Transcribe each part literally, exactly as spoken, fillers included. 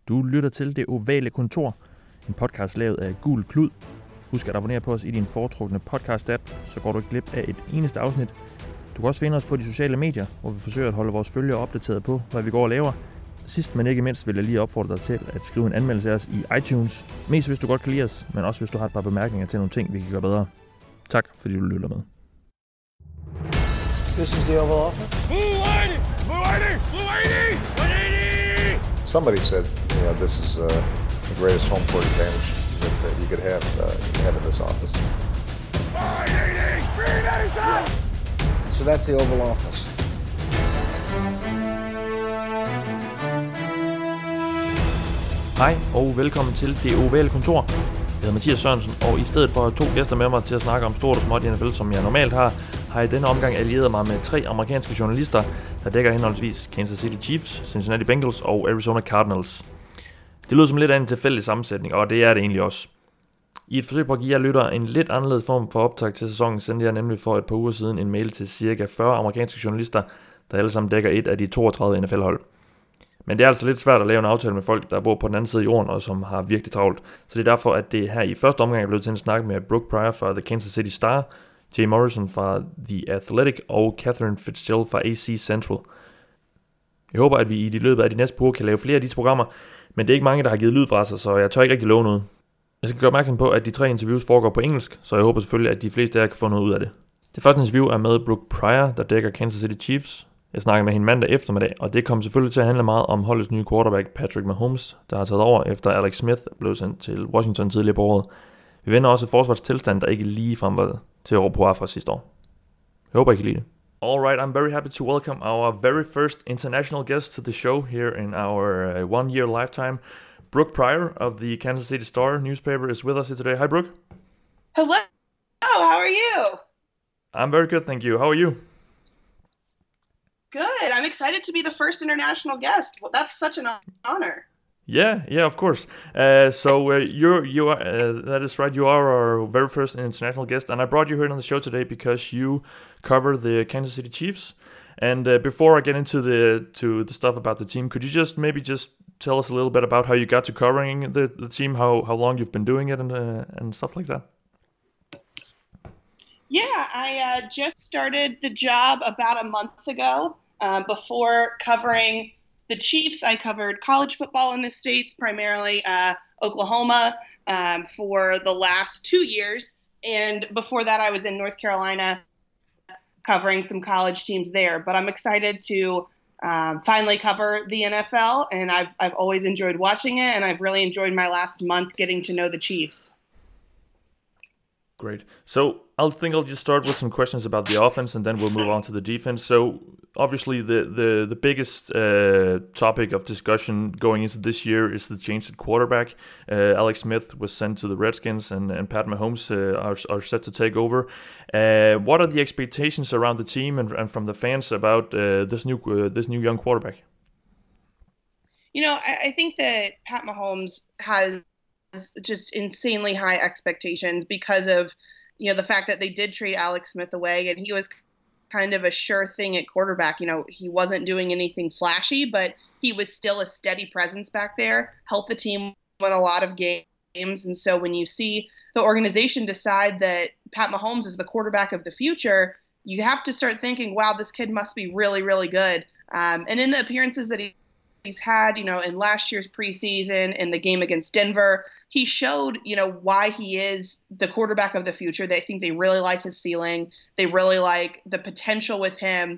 Du lytter til Det Ovale Kontor, en podcast lavet af Gul Klud. Husk at abonnere på os i din foretrukne podcast-app, så går du ikke glip af et eneste afsnit. Du kan også finde os på de sociale medier, hvor vi forsøger at holde vores følgere opdateret på, hvad vi går og laver. Sidst men ikke mindst vil jeg lige opfordre dig til at skrive en anmeldelse af os i iTunes. Mest hvis du godt kan lide os, men også hvis du har et par bemærkninger til nogle ting, vi kan gøre bedre. Tak fordi du lytter med. This is the Oval Office. Mulaney! Mulaney! Mulaney! Mulaney! Somebody said, you know, this is uh, the greatest home court advantage that, that you could have, uh, have in this office. five eighty! three eighty-seven! So that's the Oval Office. Hej og velkommen til Det Ovale Kontor. Jeg hedder Mathias Sørensen, og i stedet for at have to gæster med mig til at snakke om stort og småt i N F L, som jeg normalt har, har jeg i denne omgang allieret mig med tre amerikanske journalister, der dækker henholdsvis Kansas City Chiefs, Cincinnati Bengals og Arizona Cardinals. Det lyder som lidt af en tilfældig sammensætning, og det er det egentlig også. I et forsøg på at give jer lyttere en lidt anderledes form for optag til sæsonen, sendte jeg nemlig for et par uger siden en mail til cirka fyrre amerikanske journalister, der alle sammen dækker et af de toogtredive N F L-hold. Men det er altså lidt svært at lave en aftale med folk, der bor på den anden side af jorden, og som har virkelig travlt. Så det er derfor, at det her i første omgang er blevet til en snak med Brooke Pryor fra The Kansas City Star, Jay Morrison fra The Athletic og Catherine Fitzgerald fra A C Central. Jeg håber, at vi i de løbet af de næste par uger kan lave flere af disse programmer, men det er ikke mange, der har givet lyd fra sig, så jeg tør ikke rigtig love noget. Jeg skal gøre opmærksom på, at de tre interviews foregår på engelsk, så jeg håber selvfølgelig, at de fleste af jer kan få noget ud af det. Det første interview er med Brooke Pryor, der dækker Kansas City Chiefs. Jeg snakker med hende mandag eftermiddag, og det kommer selvfølgelig til at handle meget om holdets nye quarterback Patrick Mahomes, der har taget over efter Alex Smith blev sendt til Washington tidligere på året. Vi vender også et forsvarstilstand, der ikke lige frem var til at råbe på fra sidste år. Jeg håber, I kan lide det. Alright, I'm very happy to welcome our very first international guest to the show here in our uh, one-year lifetime. Brooke Pryor of the Kansas City Star newspaper is with us here today. Hi, Brooke. Hello. How are you? I'm very good, thank you. How are you? Good. I'm excited to be the first international guest. Well, that's such an honor. Yeah, yeah, of course. Uh, so uh, you're you are uh, that is right. You are our very first international guest, and I brought you here on the show today because you cover the Kansas City Chiefs. And uh, before I get into the to the stuff about the team, could you just maybe just tell us a little bit about how you got to covering the, the team, how how long you've been doing it, and uh, and stuff like that? Yeah, I uh, just started the job about a month ago. Um, before covering the Chiefs, I covered college football in the States, primarily uh, Oklahoma, um, for the last two years. And before that, I was in North Carolina covering some college teams there. But I'm excited to um, finally cover the N F L, and I've, I've always enjoyed watching it, and I've really enjoyed my last month getting to know the Chiefs. Great. So I think I'll just start with some questions about the offense, and then we'll move on to the defense. So obviously, the the the biggest uh, topic of discussion going into this year is the change at quarterback. Uh, Alex Smith was sent to the Redskins, and, and Pat Mahomes uh, are are set to take over. Uh, what are the expectations around the team and, and from the fans about uh, this new uh, this new young quarterback? You know, I, I think that Pat Mahomes has just insanely high expectations because of, you know, the fact that they did trade Alex Smith away, and he was kind of a sure thing at quarterback. You know, he wasn't doing anything flashy, but he was still a steady presence back there, helped the team win a lot of games. And so when you see the organization decide that Pat Mahomes is the quarterback of the future, you have to start thinking, wow, this kid must be really, really good. Um, and in the appearances that he he's had, you know, in last year's preseason, in the game against Denver, he showed, you know, why he is the quarterback of the future. They think they really like his ceiling. They really like the potential with him.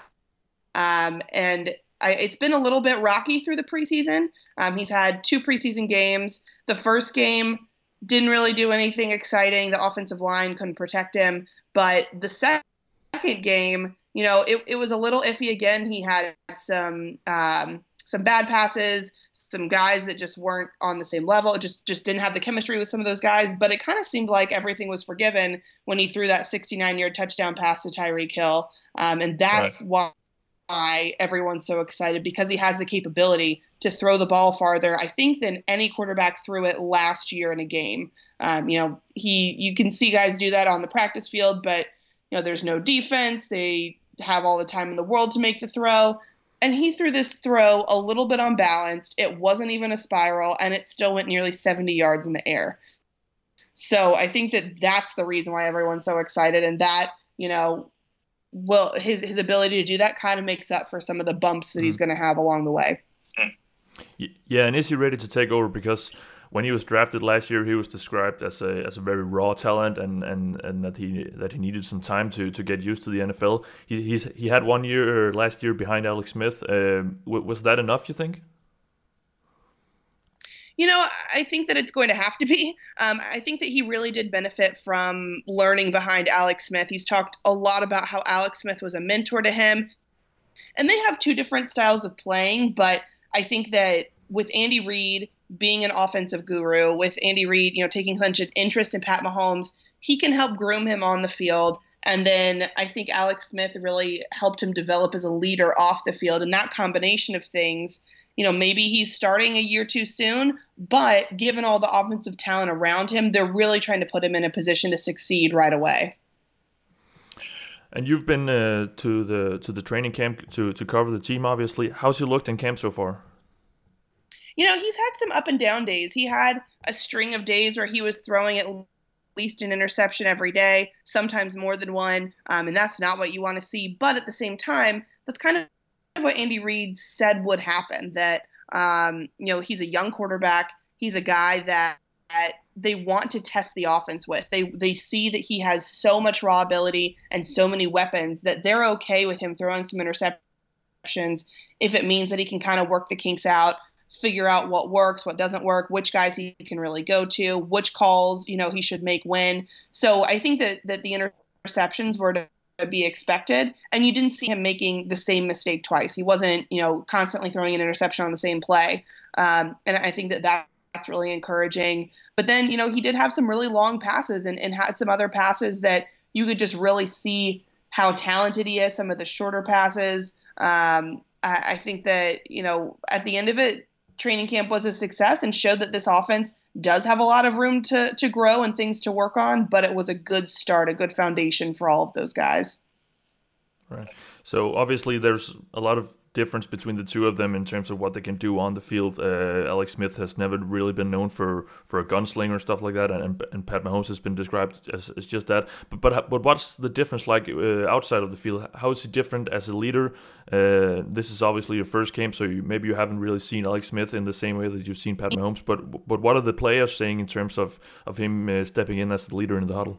Um, and I, it's been a little bit rocky through the preseason. Um, he's had two preseason games. The first game didn't really do anything exciting. The offensive line couldn't protect him. But the second game, you know, it, it was a little iffy again. He had some um, some bad passes, some guys that just weren't on the same level. It just, just didn't have the chemistry with some of those guys. But it kind of seemed like everything was forgiven when he threw that sixty-nine-yard touchdown pass to Tyreek Hill. Um, and that's right. why why everyone's so excited, because he has the capability to throw the ball farther, I think, than any quarterback threw it last year in a game. Um, you know, he you can see guys do that on the practice field, but, you know, there's no defense. They have all the time in the world to make the throw. And he threw this throw a little bit unbalanced. It wasn't even a spiral, and it still went nearly seventy yards in the air. So I think that that's the reason why everyone's so excited, and that, you know, well, his his ability to do that kind of makes up for some of the bumps that mm. he's going to have along the way. Yeah, and is he ready to take over? Because when he was drafted last year, he was described as a as a very raw talent, and, and, and that he that he needed some time to, to get used to the N F L. He he's he had one year last year behind Alex Smith. Uh, was that enough, you think? You know, I think that it's going to have to be. Um, I think that he really did benefit from learning behind Alex Smith. He's talked a lot about how Alex Smith was a mentor to him, and they have two different styles of playing, but I think that with Andy Reid being an offensive guru, with Andy Reid, you know, taking such an interest in Pat Mahomes, he can help groom him on the field. And then I think Alex Smith really helped him develop as a leader off the field. And that combination of things, you know, maybe he's starting a year too soon, but given all the offensive talent around him, they're really trying to put him in a position to succeed right away. And you've been uh, to the to the training camp to, to cover the team, obviously. How's he looked in camp so far? You know, he's had some up and down days. He had a string of days where he was throwing at least an interception every day, sometimes more than one, um, and that's not what you want to see. But at the same time, that's kind of what Andy Reid said would happen, that, um, you know, he's a young quarterback. He's a guy that, that they want to test the offense with. They they see that he has so much raw ability and so many weapons that they're okay with him throwing some interceptions if it means that he can kind of work the kinks out, figure out what works, what doesn't work, which guys he can really go to, which calls, you know, he should make when. So I think that that the interceptions were to be expected, and you didn't see him making the same mistake twice. He wasn't, you know, constantly throwing an interception on the same play. Um, and I think that that that's really encouraging. But then, you know, he did have some really long passes and, and had some other passes that you could just really see how talented he is, some of the shorter passes. Um, I, I think that, you know, at the end of it, training camp was a success and showed that this offense does have a lot of room to, to grow and things to work on, but it was a good start, a good foundation for all of those guys. Right. So obviously there's a lot of difference between the two of them in terms of what they can do on the field. Uh, Alex Smith has never really been known for, for a gunslinger and stuff like that, and, and Pat Mahomes has been described as, as just that. But but but what's the difference like uh, outside of the field? How is he different as a leader? Uh, this is obviously your first game, so you, maybe you haven't really seen Alex Smith in the same way that you've seen Pat Mahomes. But but what are the players saying in terms of of him uh, stepping in as the leader in the huddle?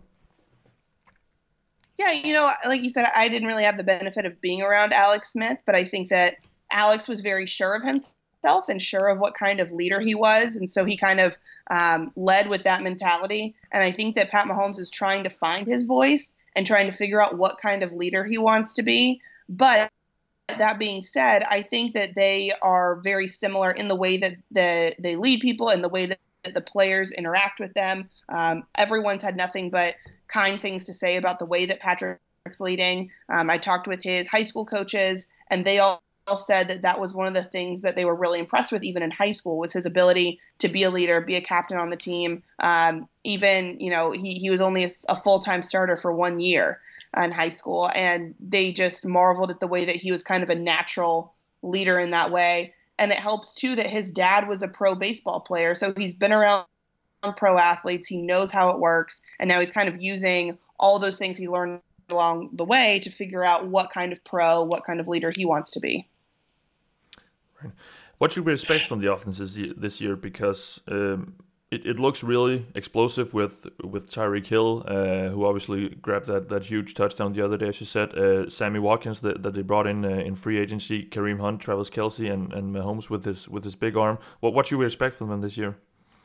Yeah, you know, like you said, I didn't really have the benefit of being around Alex Smith, but I think that Alex was very sure of himself and sure of what kind of leader he was. And so he kind of um, led with that mentality. And I think that Pat Mahomes is trying to find his voice and trying to figure out what kind of leader he wants to be. But that being said, I think that they are very similar in the way that the, they lead people and the way that the players interact with them. Um, everyone's had nothing but kind things to say about the way that Patrick's leading. Um, I talked with his high school coaches, and they all said that that was one of the things that they were really impressed with, even in high school, was his ability to be a leader, be a captain on the team. Um, even, you know, he, he was only a, a full-time starter for one year in high school, and they just marveled at the way that he was kind of a natural leader in that way. And it helps, too, that his dad was a pro baseball player, so he's been around pro athletes. He knows how it works, and now he's kind of using all those things he learned along the way to figure out what kind of pro, what kind of leader he wants to be. Right. What should we expect from the offense this year? Because um, it, it looks really explosive with with Tyreek Hill, uh, who obviously grabbed that, that huge touchdown the other day, as you said. Uh, Sammy Watkins that, that they brought in uh, in free agency, Kareem Hunt, Travis Kelce, and, and Mahomes with his with his big arm. What what should we expect from them this year?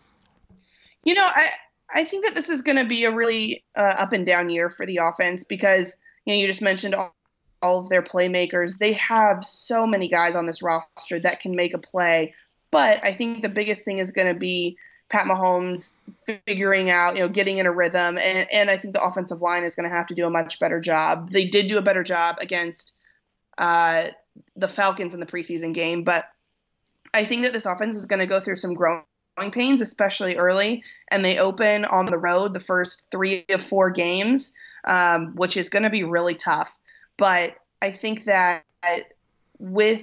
You know, I I think that this is going to be a really uh, up and down year for the offense because, you know, you just mentioned all, all of their playmakers. They have so many guys on this roster that can make a play. But I think the biggest thing is going to be Pat Mahomes figuring out, you know, getting in a rhythm. And, and I think the offensive line is going to have to do a much better job. They did do a better job against uh, the Falcons in the preseason game. But I think that this offense is going to go through some growing pains, especially early, and they open on the road the first three of four games, um, which is going to be really tough. But I think that with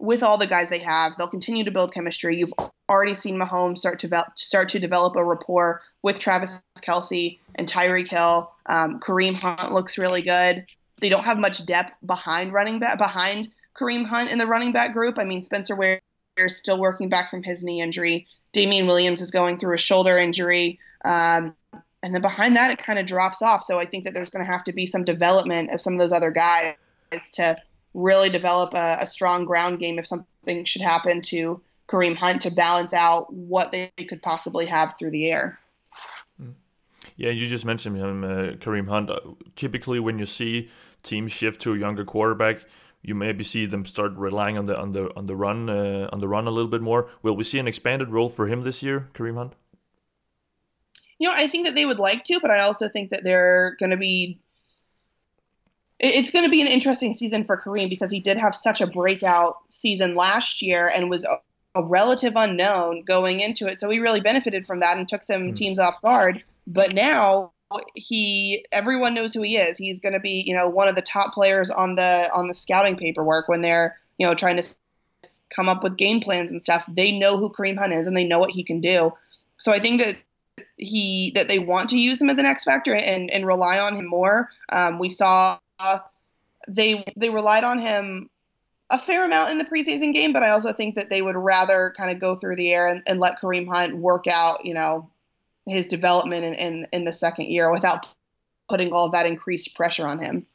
with all the guys they have, they'll continue to build chemistry. You've already seen Mahomes start to develop, start to develop a rapport with Travis Kelce and Tyreek Hill. Um, Kareem Hunt looks really good. They don't have much depth behind running back behind Kareem Hunt in the running back group. I mean, Spencer Ware is still working back from his knee injury. Damian Williams is going through a shoulder injury. Um, and then behind that, it kind of drops off. So I think that there's going to have to be some development of some of those other guys to really develop a, a strong ground game if something should happen to Kareem Hunt to balance out what they could possibly have through the air. Yeah, you just mentioned him, uh, Kareem Hunt. Typically, when you see teams shift to a younger quarterback, you maybe see them start relying on the on the on the run uh, on the run a little bit more. Will we see an expanded role for him this year, Kareem Hunt? You know, I think that they would like to, but I also think that they're going to be. It's going to be an interesting season for Kareem because he did have such a breakout season last year and was a, a relative unknown going into it. So he really benefited from that and took some mm. teams off guard. But now he, everyone knows who he is. He's going to be, you know, one of the top players on the on the scouting paperwork when they're, you know, trying to come up with game plans and stuff. They know who Kareem Hunt is and they know what he can do. So I think that he that they want to use him as an X factor and and rely on him more. Um, we saw. Uh, they they relied on him a fair amount in the preseason game, but I also think that they would rather kind of go through the air and, and let Kareem Hunt work out, you know, his development in, in, in the second year without putting all that increased pressure on him.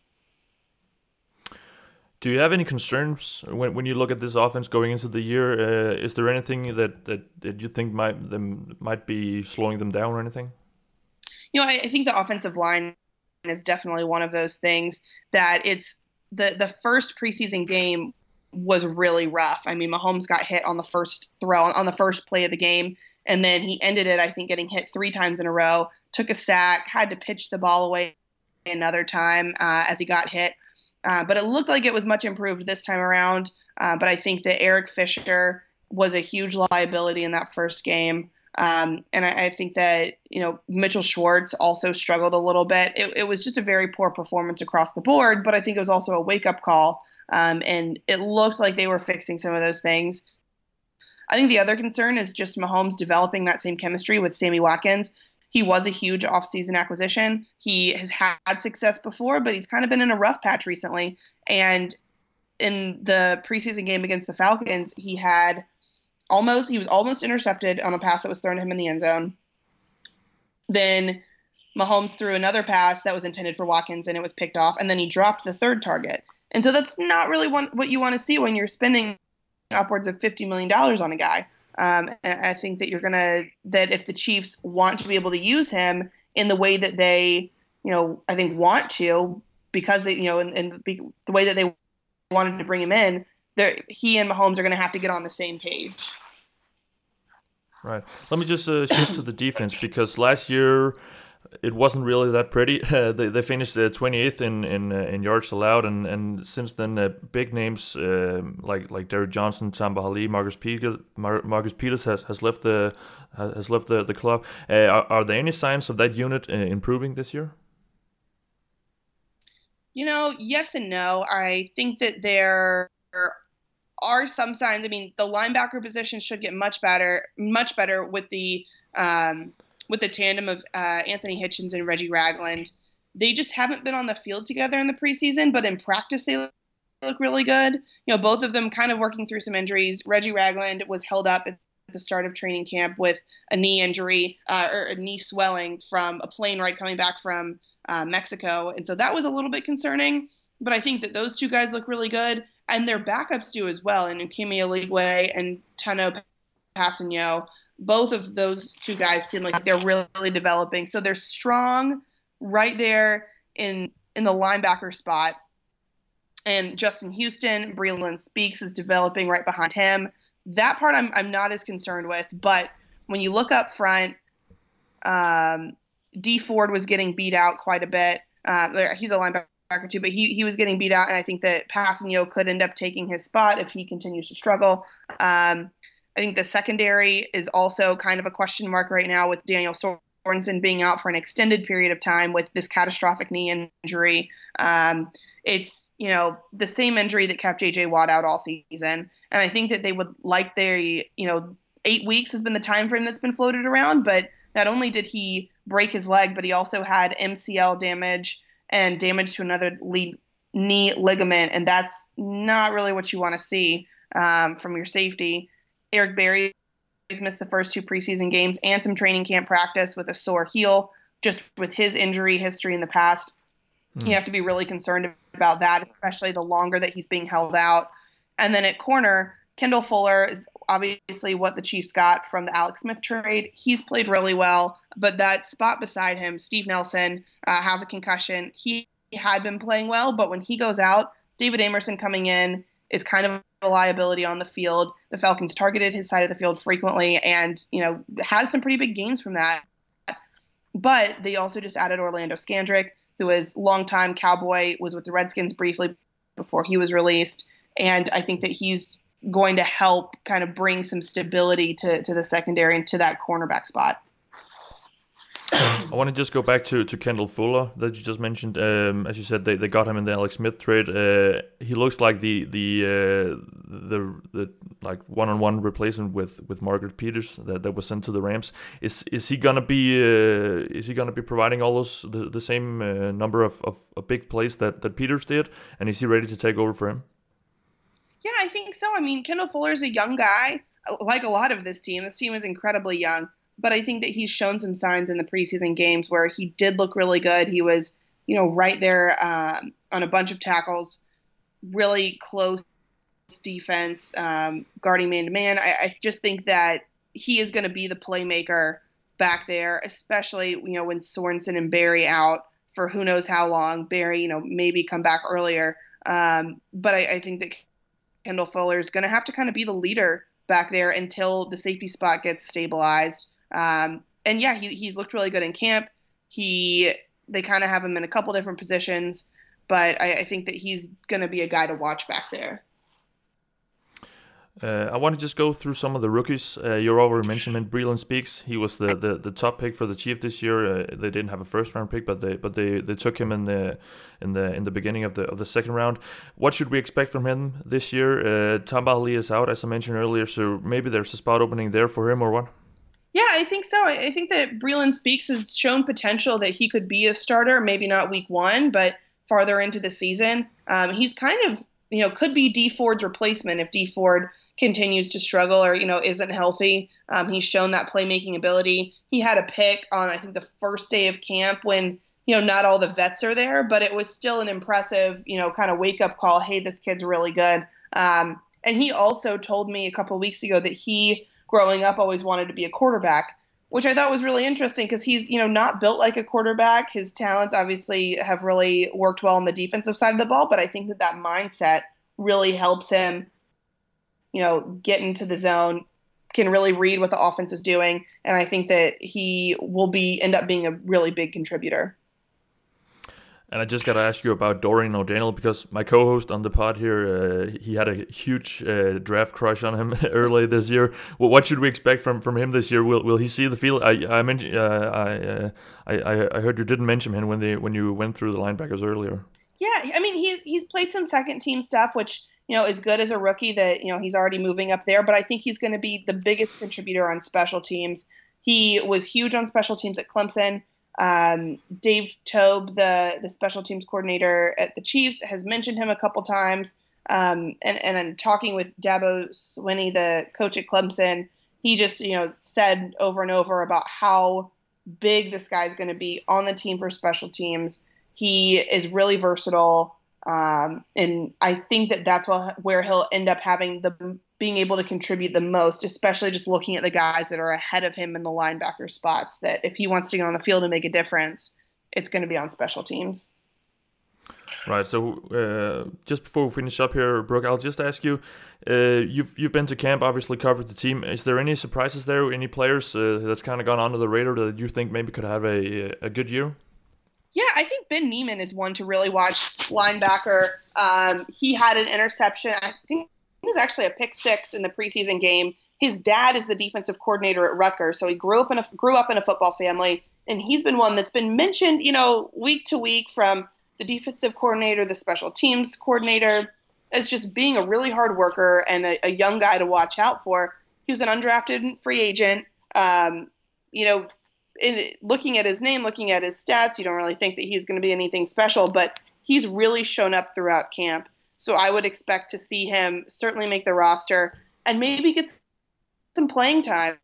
Do you have any concerns when when you look at this offense going into the year? Uh, is there anything that, that, that you think might them might be slowing them down or anything? You know, I, I think the offensive line is definitely one of those things that it's the the first preseason game was really rough. I mean, Mahomes got hit on the first throw on the first play of the game, and then he ended it, I think, getting hit three times in a row, took a sack, had to pitch the ball away another time uh, as he got hit. Uh, but it looked like it was much improved this time around. Uh, but I think that Eric Fisher was a huge liability in that first game. Um, and I, I think that, you know, Mitchell Schwartz also struggled a little bit. It, it was just a very poor performance across the board, but I think it was also a wake-up call. Um, and it looked like they were fixing some of those things. I think the other concern is just Mahomes developing that same chemistry with Sammy Watkins. He was a huge offseason acquisition. He has had success before, but he's kind of been in a rough patch recently. And in the preseason game against the Falcons, he had almost he was almost intercepted on a pass that was thrown to him in the end zone. Then Mahomes threw another pass that was intended for Watkins, and it was picked off. And then he dropped the third target. And so that's not really one, what you want to see when you're spending upwards of fifty million dollars on a guy. Um, and I think that you're going to, that if the Chiefs want to be able to use him in the way that they, you know, I think want to, because they, you know, in, in the, the way that they wanted to bring him in, he and Mahomes are going to have to get on the same page. Right. Let me just uh, shift to the defense, because last year it wasn't really that pretty. Uh, they they finished uh, twenty-eighth in in, uh, in yards allowed, and, and since then uh, big names uh, like like Derrick Johnson, Tamba Hali, Marcus Peters, Mar- Marcus Peters has, has left the has left the the club. Uh, are, are there any signs of that unit uh, improving this year? You know, yes and no. I think that there are some signs. I mean, the linebacker position should get much better, much better with the um, with the tandem of uh, Anthony Hitchens and Reggie Ragland. They just haven't been on the field together in the preseason, but in practice they look, look really good. You know, both of them kind of working through some injuries. Reggie Ragland was held up at the start of training camp with a knee injury uh, or a knee swelling from a plane ride coming back from uh, Mexico. And so that was a little bit concerning, but I think that those two guys look really good, and their backups do as well. And Ukemi Eligwe and Tano Passanio, both of those two guys seem like they're really developing. So they're strong right there in in the linebacker spot. And Justin Houston, Breeland Speaks is developing right behind him. That part I'm I'm not as concerned with. But when you look up front, um, D Ford was getting beat out quite a bit. Uh, he's a linebacker too, but he he was getting beat out, and I think that Passanio could end up taking his spot if he continues to struggle. Um, I think the secondary is also kind of a question mark right now with Daniel Sorensen being out for an extended period of time with this catastrophic knee injury. Um, it's, you know, the same injury that kept J J Watt out all season. And I think that they would like their, you know, eight weeks has been the time frame that's been floated around. But not only did he break his leg, but he also had M C L damage and damage to another lead knee ligament. And that's not really what you want to see um, from your safety. Eric Berry has missed the first two preseason games and some training camp practice with a sore heel, just with his injury history in the past. Mm. You have to be really concerned about that, especially the longer that he's being held out. And then at corner, Kendall Fuller is obviously what the Chiefs got from the Alex Smith trade. He's played really well, but that spot beside him, Steve Nelson, uh, has a concussion. He had been playing well, but when he goes out, David Amerson coming in is kind of a liability on the field. The Falcons targeted his side of the field frequently and, you know, had some pretty big gains from that. But they also just added Orlando Scandrick, who is longtime Cowboy, was with the Redskins briefly before he was released. And I think that he's going to help kind of bring some stability to, to the secondary and to that cornerback spot. I want to just go back to, to Kendall Fuller that you just mentioned. Um, as you said, they, they got him in the Alex Smith trade. Uh, he looks like the the uh, the the like one on one replacement with, with Margaret Peters that, that was sent to the Rams. Is is he gonna be uh, is he gonna be providing all those the, the same uh, number of, of, of big plays that, that Peters did? And is he ready to take over for him? Yeah, I think so. I mean, Kendall Fuller is a young guy, like a lot of this team. This team is incredibly young. But I think that he's shown some signs in the preseason games where he did look really good. He was, you know, right there um, on a bunch of tackles, really close defense, um, guarding man-to-man. I, I just think that he is going to be the playmaker back there, especially, you know, when Sorensen and Berry out for who knows how long. Berry, you know, maybe come back earlier. Um, but I, I think that Kendall Fuller is going to have to kind of be the leader back there until the safety spot gets stabilized. Um, and yeah, he, he's looked really good in camp. He, they kind of have him in a couple different positions, but I, I think that he's going to be a guy to watch back there. Uh, I want to just go through some of the rookies. Uh, you already mentioned him, Breeland Speaks. He was the, the, the top pick for the Chiefs this year. Uh, they didn't have a first round pick, but they but they, they took him in the in the in the beginning of the of the second round. What should we expect from him this year? Uh, Tamba Hali is out, as I mentioned earlier, so maybe there's a spot opening there for him, or what? Yeah, I think so. I think that Breeland Speaks has shown potential that he could be a starter, maybe not week one, but farther into the season. Um, he's kind of, you know, could be Dee Ford's replacement if Dee Ford continues to struggle or, you know, isn't healthy. Um, he's shown that playmaking ability. He had a pick on, I think, the first day of camp when, you know, not all the vets are there, but it was still an impressive, you know, kind of wake-up call. Hey, this kid's really good. Um, and he also told me a couple of weeks ago that he, growing up, always wanted to be a quarterback, which I thought was really interesting because he's, you know, not built like a quarterback. His talents obviously have really worked well on the defensive side of the ball, but I think that that mindset really helps him, you know, get into the zone, can really read what the offense is doing, and I think that he will be end up being a really big contributor. And I just got to ask you about Dorian O'Daniel, because my co-host on the pod here, uh, he had a huge uh, draft crush on him early this year. Well, what should we expect from, from him this year? Will will he see the field? I I mentioned uh, I, uh, I I heard you didn't mention him when they when you went through the linebackers earlier. Yeah, I mean he's he's played some second team stuff, which, you know, is good as a rookie that, you know, he's already moving up there. But I think he's going to be the biggest contributor on special teams. He was huge on special teams at Clemson. Um, Dave Tobe, the, the special teams coordinator at the Chiefs, has mentioned him a couple times. Um, and, and in talking with Dabo Swinney, the coach at Clemson, he just, you know, said over and over about how big this guy's going to be on the team for special teams. He is really versatile. Um, and I think that that's what, where he'll end up having the being able to contribute the most, especially just looking at the guys that are ahead of him in the linebacker spots, that if he wants to get on the field and make a difference, it's going to be on special teams. Right. So uh, just before we finish up here, Brooke, I'll just ask you, uh, you've you've been to camp, obviously covered the team. Is there any surprises there? Any players uh, that's kind of gone under the radar that you think maybe could have a a good year? Yeah, I think Ben Neiman is one to really watch, linebacker. Um, he had an interception. I think it was actually a pick six in the preseason game. His dad is the defensive coordinator at Rutgers, so he grew up in a grew up in a football family, and he's been one that's been mentioned, you know, week to week from the defensive coordinator, the special teams coordinator. as just being a really hard worker and a, a young guy to watch out for. He was an undrafted free agent. Um, you know, in, looking at his name, looking at his stats, you don't really think that he's going to be anything special, but he's really shown up throughout camp. So I would expect to see him certainly make the roster and maybe get some playing time.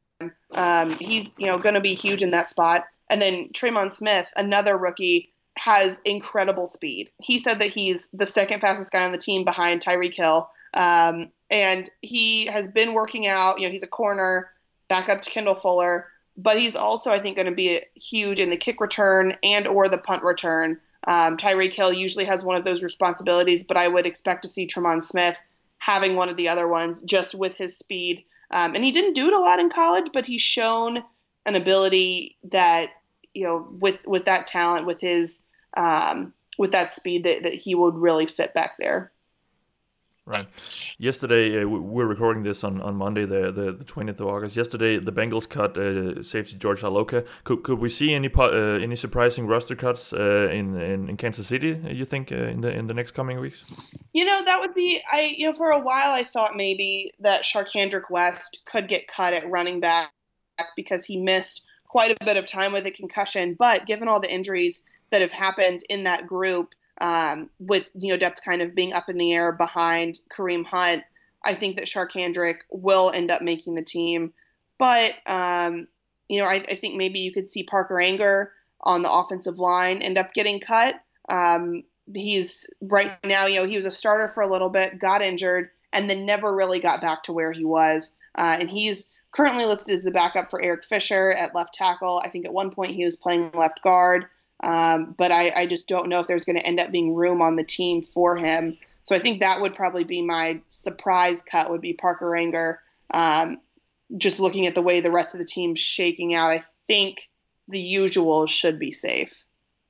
Um, he's, you know, going to be huge in that spot. And then Tremon Smith, another rookie, has incredible speed. He said that he's the second fastest guy on the team behind Tyreek Hill. Um, and he has been working out. You know, he's a corner, back up to Kendall Fuller. But he's also, I think, going to be huge in the kick return and or the punt return. Um, Tyreek Hill usually has one of those responsibilities, but I would expect to see Tremon Smith having one of the other ones just with his speed. Um, and he didn't do it a lot in college, but he's shown an ability that, you know, with, with that talent, with his, um, with that speed that, that he would really fit back there. Right. Yesterday, uh, we're recording this on, on Monday, the, the the twentieth of August. Yesterday, the Bengals cut uh, safety George Iloka. Could could we see any uh, any surprising roster cuts uh, in, in in Kansas City? You think uh, in the in the next coming weeks? You know, that would be I. You know, for a while I thought maybe that Sharkhandrick West could get cut at running back because he missed quite a bit of time with a concussion. But given all the injuries that have happened in that group, Um, with, you know, depth kind of being up in the air behind Kareem Hunt, I think that Sharkhandrick will end up making the team. But, um, you know, I, I think maybe you could see Parker Anger on the offensive line end up getting cut. Um, he's right now, you know, he was a starter for a little bit, got injured, and then never really got back to where he was. Uh, and he's currently listed as the backup for Eric Fisher at left tackle. I think at one point he was playing left guard. Um, but I, I just don't know if there's going to end up being room on the team for him. So I think that would probably be my surprise cut would be Parker Anger. Um, just looking at the way the rest of the team's shaking out, I think the usual should be safe.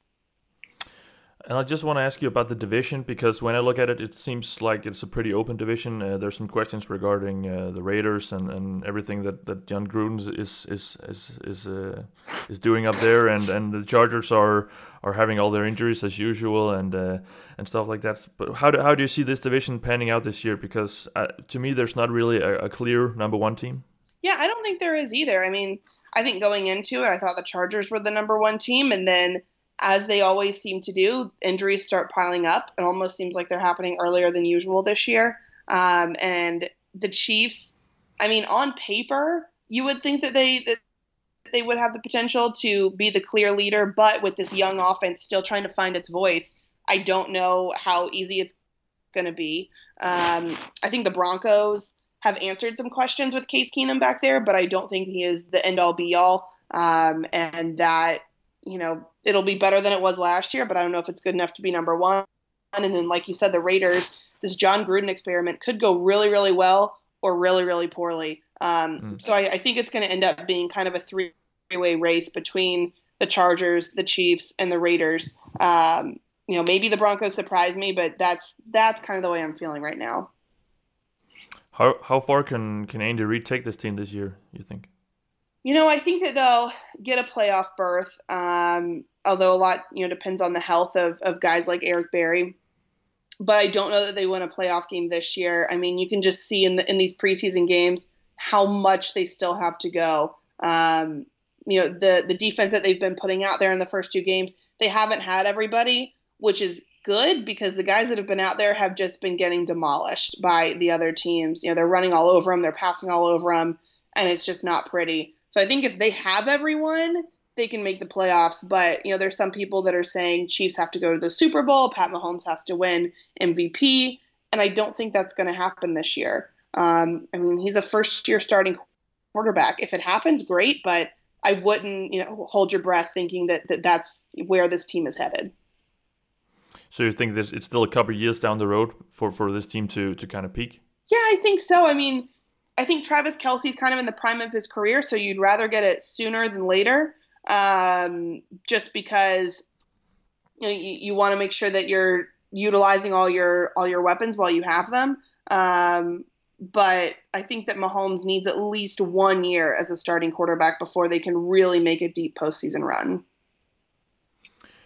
And I just want to ask you about the division, because when I look at it, it seems like it's a pretty open division. Uh, there's some questions regarding uh, the Raiders and, and everything that, that John Gruden is is is is uh, is doing up there, and, and the Chargers are are having all their injuries as usual and uh, and stuff like that. But how do how do you see this division panning out this year? Because uh, to me, there's not really a, a clear number one team. Yeah, I don't think there is either. I mean, I think going into it, I thought the Chargers were the number one team, and then, as they always seem to do, injuries start piling up. It almost seems like they're happening earlier than usual this year. Um, and the Chiefs, I mean, on paper, you would think that they that they would have the potential to be the clear leader, but with this young offense still trying to find its voice, I don't know how easy it's going to be. Um, I think the Broncos have answered some questions with Case Keenum back there, but I don't think he is the end-all be-all, um, and that, you know, it'll be better than it was last year, but I don't know if it's good enough to be number one. And then, like you said, the Raiders, this John Gruden experiment could go really, really well or really, really poorly. Um, mm. So I, I think it's going to end up being kind of a three-way race between the Chargers, the Chiefs, and the Raiders. Um, you know, maybe the Broncos surprise me, but that's that's kind of the way I'm feeling right now. How how far can, can Andy Reid take this team this year, you think? You know, I think that they'll get a playoff berth, um, although a lot, you know, depends on the health of, of guys like Eric Berry. But I don't know that they win a playoff game this year. I mean, you can just see in the, in these preseason games how much they still have to go. Um, you know, the the defense that they've been putting out there in the first two games, they haven't had everybody, which is good because the guys that have been out there have just been getting demolished by the other teams. You know, they're running all over them, they're passing all over them, and it's just not pretty. So I think if they have everyone, they can make the playoffs. But, you know, there's some people that are saying Chiefs have to go to the Super Bowl, Pat Mahomes has to win M V P, and I don't think that's going to happen this year. Um, I mean, he's a first-year starting quarterback. If it happens, great, but I wouldn't, you know, hold your breath thinking that, that that's where this team is headed. So you think that it's still a couple of years down the road for, for this team to, to kind of peak? Yeah, I think so. I mean, I think Travis Kelce's kind of in the prime of his career, so you'd rather get it sooner than later, um, just because, you know, you, you want to make sure that you're utilizing all your all your weapons while you have them. Um, but I think that Mahomes needs at least one year as a starting quarterback before they can really make a deep postseason run.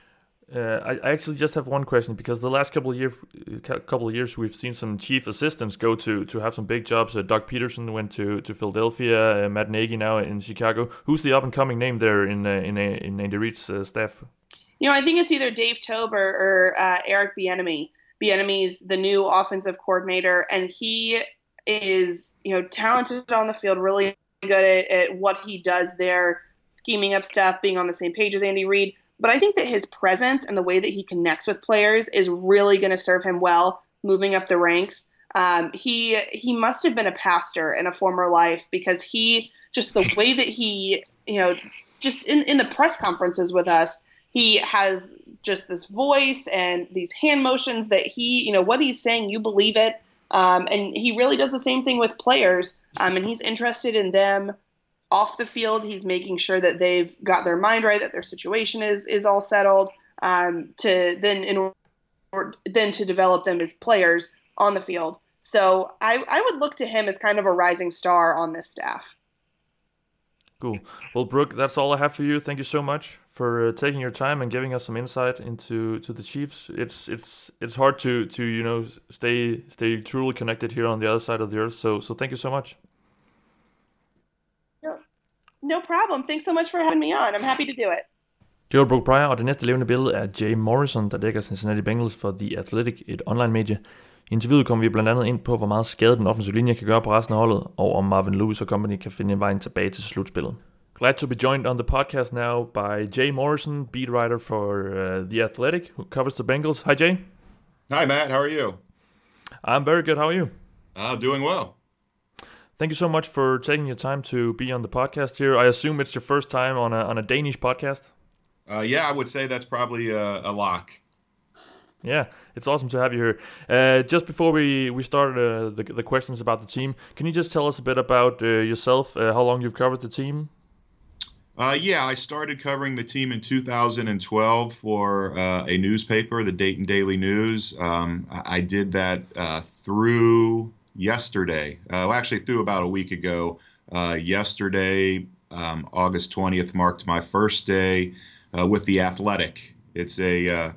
Uh, I, I actually just have one question, because the last couple of years, couple of years, we've seen some chief assistants go to to have some big jobs. Uh, Doug Peterson went to to Philadelphia. Uh, Matt Nagy now in Chicago. Who's the up and coming name there in uh, in uh, in Andy Reid's uh, staff? You know, I think it's either Dave Tober or uh, Eric Bieniemy. Bieniemy's the new offensive coordinator, and he is, you know, talented on the field, really good at, at what he does there, scheming up stuff, being on the same page as Andy Reid. But I think that his presence and the way that he connects with players is really going to serve him well moving up the ranks. Um, he he must have been a pastor in a former life, because he, just the way that he, you know, just in, in the press conferences with us, he has just this voice and these hand motions that he, you know, what he's saying, you believe it. Um, and he really does the same thing with players. Um, and he's interested in them off the field. He's making sure that they've got their mind right, that their situation is is all settled, um, to then in order, then to develop them as players on the field. So I, I would look to him as kind of a rising star on this staff. Cool. Well, Brooke, that's all I have for you. Thank you so much for uh, taking your time and giving us some insight into to the Chiefs. It's it's it's hard to to you know stay stay truly connected here on the other side of the earth. So so thank you so much. No problem. Thanks so much for having me on. I'm happy to do it. Det var Brooke Pryor, og det næste levende billede er Jay Morrison, der dækker Cincinnati Bengals for The Athletic, et online-medie. I interviewet kommer vi blandt andet ind på, hvor meget skade den offensive linje kan gøre på resten af holdet, og om Marvin Lewis og company kan finde en vej tilbage til slutspillet. Glad to be joined on the podcast now by Jay Morrison, beat writer for uh, The Athletic, who covers the Bengals. Hi, Jay. Hi, Matt. How are you? I'm very good. How are you? Uh, doing well. Thank you so much for taking your time to be on the podcast here. I assume it's your first time on a on a Danish podcast? Uh, yeah, I would say that's probably a, a lock. Yeah, it's awesome to have you here. Uh, just before we, we start uh, the, the questions about the team, can you just tell us a bit about uh, yourself, uh, how long you've covered the team? Uh, yeah, I started covering the team in two thousand twelve for uh, a newspaper, the Dayton Daily News. Um, I, I did that uh, through... yesterday, uh, well, actually through about a week ago. Uh, yesterday, um, August twentieth, marked my first day uh, with The Athletic. It's a, uh,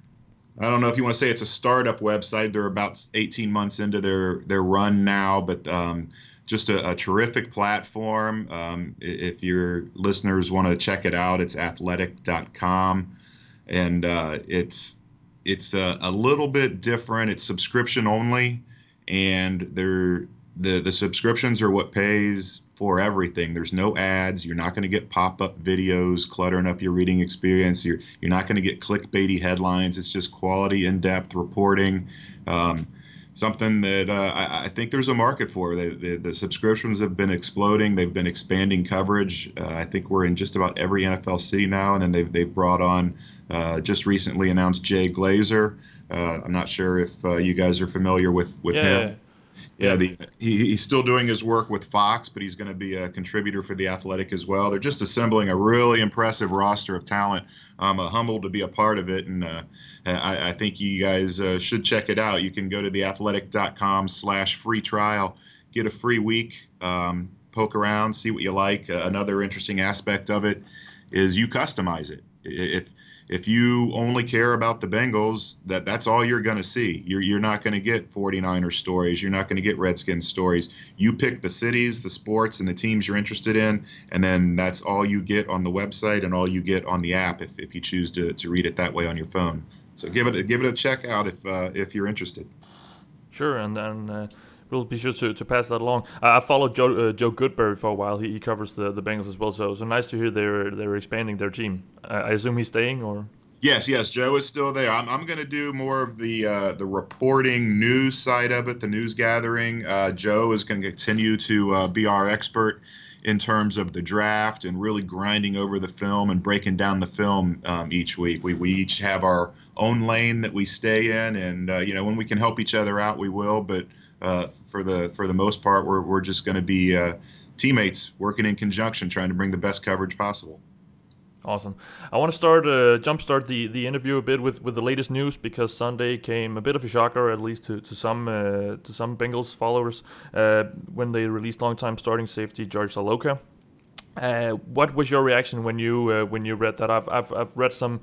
I don't know if you want to say it's a startup website. They're about eighteen months into their, their run now, but um, just a, a terrific platform. Um, if your listeners want to check it out, it's athletic dot com. And uh, it's, it's a, a little bit different. It's subscription only. And they're, the the subscriptions are what pays for everything. There's no ads. You're not going to get pop-up videos cluttering up your reading experience. You're you're not going to get clickbaity headlines. It's just quality, in-depth reporting. Um, something that uh, I, I think there's a market for. The, the, the subscriptions have been exploding. They've been expanding coverage. Uh, I think we're in just about every N F L city now. And then they've they've brought on uh, just recently announced Jay Glazer. Uh, I'm not sure if uh, you guys are familiar with, with yeah. him. Yeah, the, he, he's still doing his work with Fox, but he's going to be a contributor for The Athletic as well. They're just assembling a really impressive roster of talent. I'm uh, humbled to be a part of it, and uh, I, I think you guys uh, should check it out. You can go to theathletic dot com slash free trial, get a free week, um, poke around, see what you like. Uh, another interesting aspect of it is you customize it. If If you only care about the Bengals, that that's all you're going to see. You're you're not going to get forty-niners stories. You're not going to get Redskins stories. You pick the cities, the sports, and the teams you're interested in, and then that's all you get on the website and all you get on the app if, if you choose to, to read it that way on your phone. So give it a, give it a check out if uh, if you're interested. Sure, and then uh, we'll be sure to, to pass that along. Uh, I followed Joe uh, Joe Goodberry for a while. He, he covers the, the Bengals as well. So so nice to hear they're they're expanding their team. I, I assume he's staying, or? Yes, yes, Joe is still there. I'm I'm going to do more of the uh, the reporting news side of it, the news gathering. Uh, Joe is going to continue to uh, be our expert in terms of the draft and really grinding over the film and breaking down the film um, each week. We we each have our own lane that we stay in, and uh, you know, when we can help each other out, we will. But uh, for the for the most part, we're we're just going to be uh, teammates working in conjunction, trying to bring the best coverage possible. Awesome. I want to start, uh, jumpstart the, the interview a bit with, with the latest news, because Sunday came a bit of a shocker, at least to to some uh, to some Bengals followers, uh, when they released longtime starting safety George Iloka. Uh, what was your reaction when you uh, when you read that? I've I've I've read some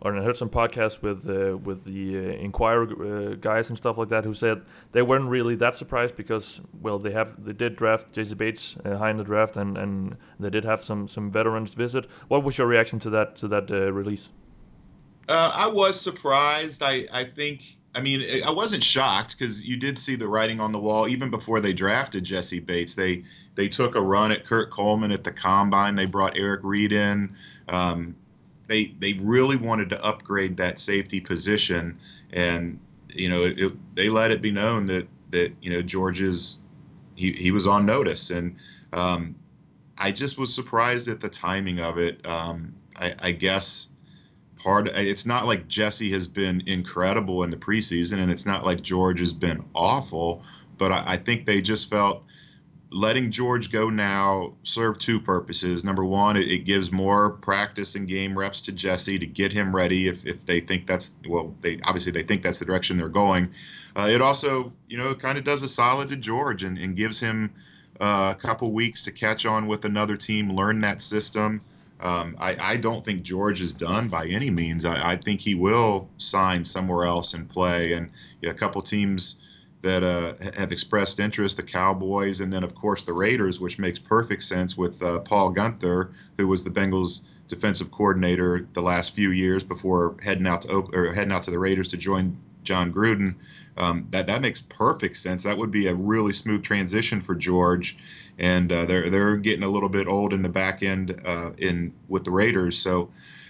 or I heard some podcasts with uh, with the uh, Inquirer uh, guys and stuff like that who said they weren't really that surprised because, well, they have they did draft J C Bates uh, high in the draft, and, and they did have some some veterans visit. What was your reaction to that to that uh, release? Uh, I was surprised. I I think. I mean, I wasn't shocked because you did see the writing on the wall even before they drafted Jesse Bates. They they took a run at Kurt Coleman at the combine. They brought Eric Reed in. Um, they they really wanted to upgrade that safety position, and you know it, it, they let it be known that that you know George is he he was on notice, and um, I just was surprised at the timing of it. Um, I, I guess. Part, it's not like Jesse has been incredible in the preseason, and it's not like George has been awful, but I, I think they just felt letting George go now served two purposes. Number one, it, it gives more practice and game reps to Jesse to get him ready if, if they think that's, well, they obviously they think that's the direction they're going. Uh, it also, you know, kind of does a solid to George and, and gives him uh, a couple weeks to catch on with another team, learn that system. Um, I, I don't think George is done by any means. I, I think he will sign somewhere else and play. And you know, a couple teams that uh, have expressed interest, the Cowboys, and then, of course, the Raiders, which makes perfect sense with uh, Paul Guenther, who was the Bengals' defensive coordinator the last few years before heading out to or heading out to the Raiders to join John Gruden. Um, that that makes perfect sense. That would be a really smooth transition for George, and uh, they're they're getting a little bit old in the back end uh, in with the Raiders. So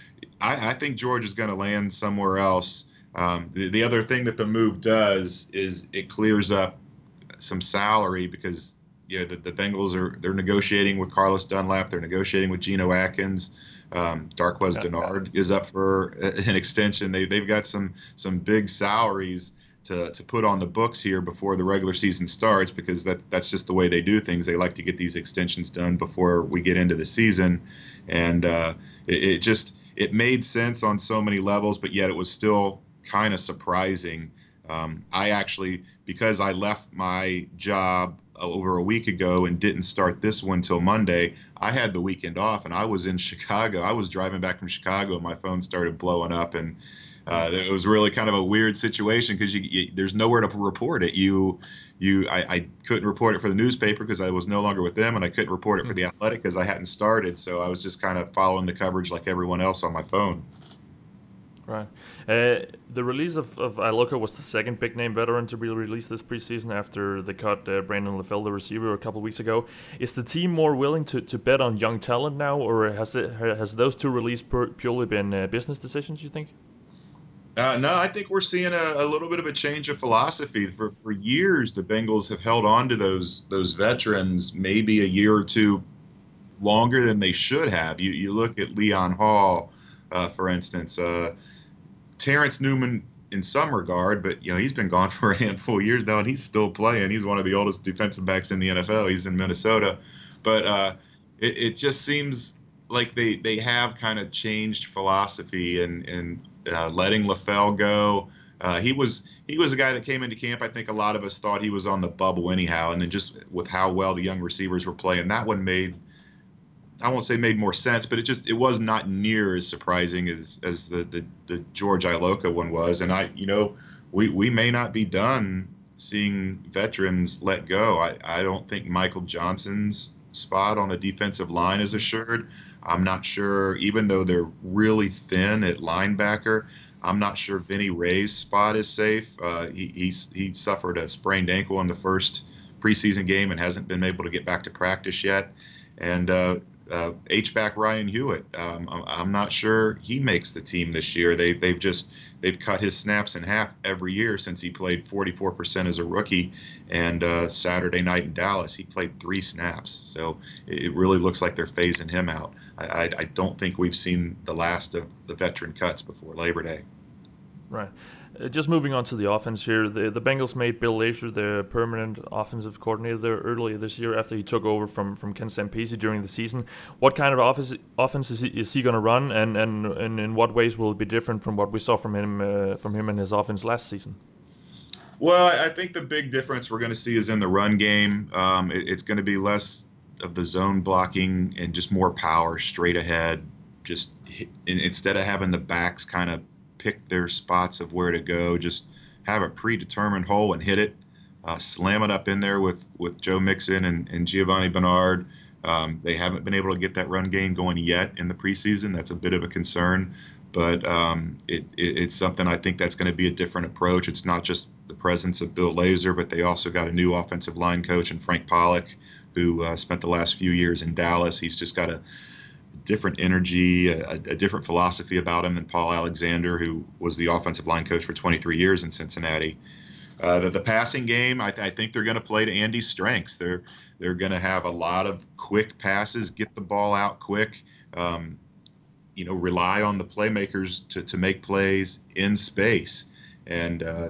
I, I think George is going to land somewhere else. Um, the, the other thing that the move does is it clears up some salary because you know the, the Bengals are they're negotiating with Carlos Dunlap, they're negotiating with Geno Atkins. Um, Darqueze yeah, Dennard yeah. is up for an extension. They they've got some some big salaries to to put on the books here before the regular season starts because that that's just the way they do things. They like to get these extensions done before we get into the season, and uh, it, it just it made sense on so many levels, but yet it was still kind of surprising. Um, I actually, because I left my job over a week ago and didn't start this one till Monday, I had the weekend off and I was in Chicago. I was driving back from Chicago and my phone started blowing up, and uh, it was really kind of a weird situation because you, you, there's nowhere to report it. You, you, I, I couldn't report it for the newspaper because I was no longer with them, and I couldn't report it for the Athletic because I hadn't started. So I was just kind of following the coverage like everyone else on my phone. Right. Uh, the release of, of Iloka was the second big-name veteran to be released this preseason after they cut uh, Brandon LaFell, the receiver, a couple of weeks ago. Is the team more willing to, to bet on young talent now, or has it has those two releases purely been uh, business decisions, you think? Uh, no, I think we're seeing a, a little bit of a change of philosophy. For for years, the Bengals have held on to those those veterans maybe a year or two longer than they should have. You you look at Leon Hall, uh, for instance. Uh, Terrence Newman in some regard, but you know he's been gone for a handful of years now, and he's still playing. He's one of the oldest defensive backs in the N F L. He's in Minnesota, but uh, it, it just seems like they they have kind of changed philosophy and and uh, letting LaFell go. Uh, he was he was a guy that came into camp. I think a lot of us thought he was on the bubble anyhow, and then just with how well the young receivers were playing, that one made. I won't say made more sense, but it just it was not near as surprising as as the the, the George Iloka one was. And I, you know, we, we may not be done seeing veterans let go. I, I don't think Michael Johnson's spot on the defensive line is assured. I'm not sure, even though they're really thin at linebacker, I'm not sure Vinny Ray's spot is safe. Uh, he he's, he suffered a sprained ankle in the first preseason game and hasn't been able to get back to practice yet. And uh, Uh, H-back Ryan Hewitt. Um, I'm not sure he makes the team this year. They, they've just they've cut his snaps in half every year since he played forty-four percent as a rookie. And uh, Saturday night in Dallas, he played three snaps. So it really looks like they're phasing him out. I, I, I don't think we've seen the last of the veteran cuts before Labor Day. Right. Uh, just moving on to the offense here, the the Bengals made Bill Lazor the permanent offensive coordinator there earlier this year after he took over from, from Ken Zampese during the season. What kind of offense offense is he, is he going to run, and, and, and in what ways will it be different from what we saw from him uh, from him and his offense last season? Well, I think the big difference we're going to see is in the run game. Um, it, it's going to be less of the zone blocking and just more power straight ahead. just hit, instead of having the backs kind of pick their spots of where to go, just have a predetermined hole and hit it, uh, slam it up in there with, with Joe Mixon and, and Giovanni Bernard. Um, they haven't been able to get that run game going yet in the preseason. That's a bit of a concern, but um, it, it, it's something I think that's going to be a different approach. It's not just the presence of Bill Lazor, but they also got a new offensive line coach in Frank Pollock, who uh, spent the last few years in Dallas. He's just got a different energy, a, a different philosophy about him than Paul Alexander, who was the offensive line coach for twenty-three years in Cincinnati. Uh, the, the passing game, I, I think they're going to play to Andy's strengths. They're they're going to have a lot of quick passes, get the ball out quick, um, you know, rely on the playmakers to, to make plays in space. And uh,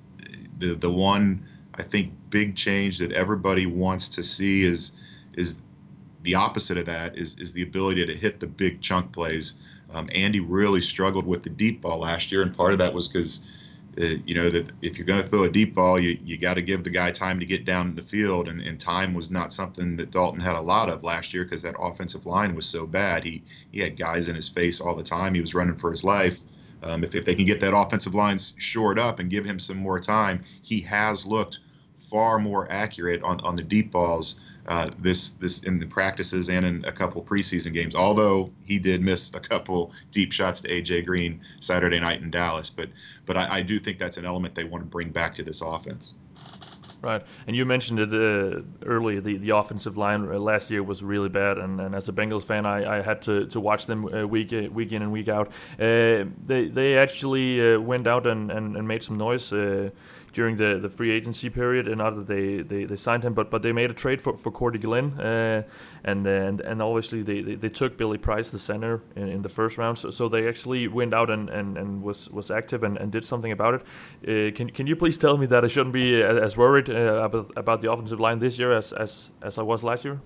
the the one I think big change that everybody wants to see is is the opposite of that is is the ability to hit the big chunk plays. Um, Andy really struggled with the deep ball last year, and part of that was because Uh, you know, that if you're going to throw a deep ball, you, you got to give the guy time to get down in the field. And, and time was not something that Dalton had a lot of last year because that offensive line was so bad. He he had guys in his face all the time. He was running for his life. Um, if, if they can get that offensive line shored up and give him some more time, he has looked far more accurate on, on the deep balls uh, this this in the practices and in a couple preseason games, although he did miss a couple deep shots to A J Green Saturday night in Dallas. But but I, I do think that's an element they want to bring back to this offense. Right, and you mentioned it uh, earlier. The, the offensive line uh, last year was really bad, and, and as a Bengals fan, I, I had to, to watch them uh, week uh, week in and week out. Uh, they they actually uh, went out and, and, and made some noise uh, during the, the free agency period, and not that they, they, they signed him, but but they made a trade for, for Cordy Glenn, uh, and and and obviously they, they, they took Billy Price, the center, in, in the first round. So, so they actually went out and, and, and was was active and, and did something about it. Uh, can can you please tell me that I shouldn't be as worried uh, about about the offensive line this year as as, as I was last year?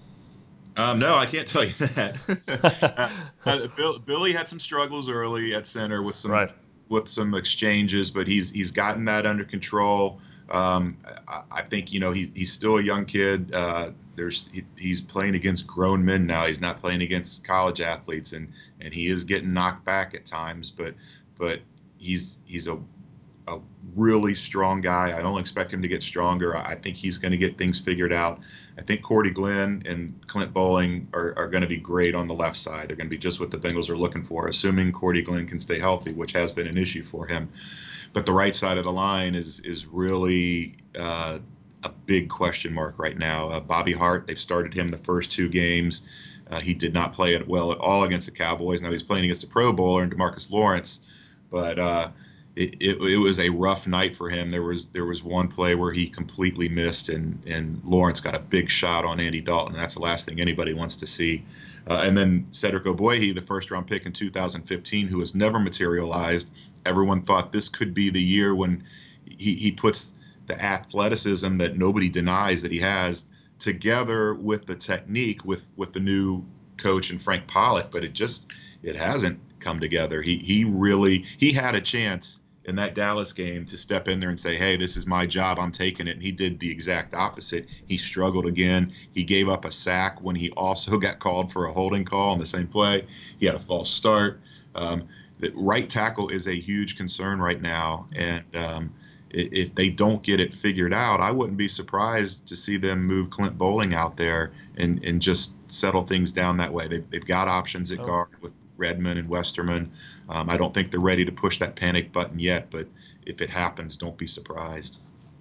Um, no, I can't tell you that. uh, uh, Bill, Billy had some struggles early at center with some. Right. with some exchanges, but he's he's gotten that under control. Um, I, I think you know he's he's still a young kid. Uh, there's he, he's playing against grown men now. He's not playing against college athletes, and and he is getting knocked back at times. But but he's he's a a really strong guy. I don't expect him to get stronger. I think he's going to get things figured out. I think Cordy Glenn and Clint Bowling are, are going to be great on the left side. They're going to be just what the Bengals are looking for, assuming Cordy Glenn can stay healthy, which has been an issue for him. But the right side of the line is is really uh, a big question mark right now. Uh, Bobby Hart, they've started him the first two games. Uh, he did not play it well at all against the Cowboys. Now he's playing against a Pro Bowler and DeMarcus Lawrence, but uh, It, it, it was a rough night for him. There was there was one play where he completely missed, and, and Lawrence got a big shot on Andy Dalton. That's the last thing anybody wants to see. Uh, and then Cedric Ogbuehi, the first-round pick in two thousand fifteen, who has never materialized. Everyone thought this could be the year when he, he puts the athleticism that nobody denies that he has together with the technique with, with the new coach and Frank Pollock, but it just it hasn't come together. He he really he had a chance in that Dallas game to step in there and say, hey, this is my job, I'm taking it. And he did the exact opposite. He struggled again. He gave up a sack when he also got called for a holding call on the same play. He had a false start. Um, the right tackle is a huge concern right now. And um, if they don't get it figured out, I wouldn't be surprised to see them move Clint Bowling out there and, and just settle things down that way. They've, they've got options at oh. guard with Redmond and Westerman. Um, I don't think they're ready to push that panic button yet, but if it happens, don't be surprised.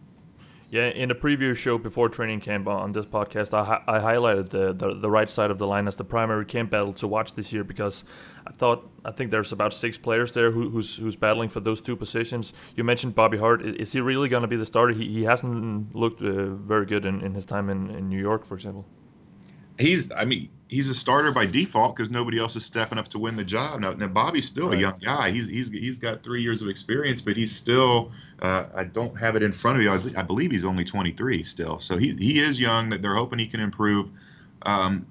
Yeah, in the preview show before training camp on this podcast, I, hi- I highlighted the, the the right side of the line as the primary camp battle to watch this year because I thought I think there's about six players there who, who's who's battling for those two positions. You mentioned Bobby Hart. Is, is he really going to be the starter? He he hasn't looked uh, very good in, in his time in, in New York, for example. He's, I mean, he's a starter by default because nobody else is stepping up to win the job. Now, now Bobby's still right. a young guy. He's he's he's got three years of experience, but he's still. Uh, I don't have it in front of me. I, I believe he's only twenty-three still, so he he is young. That they're hoping he can improve. Um,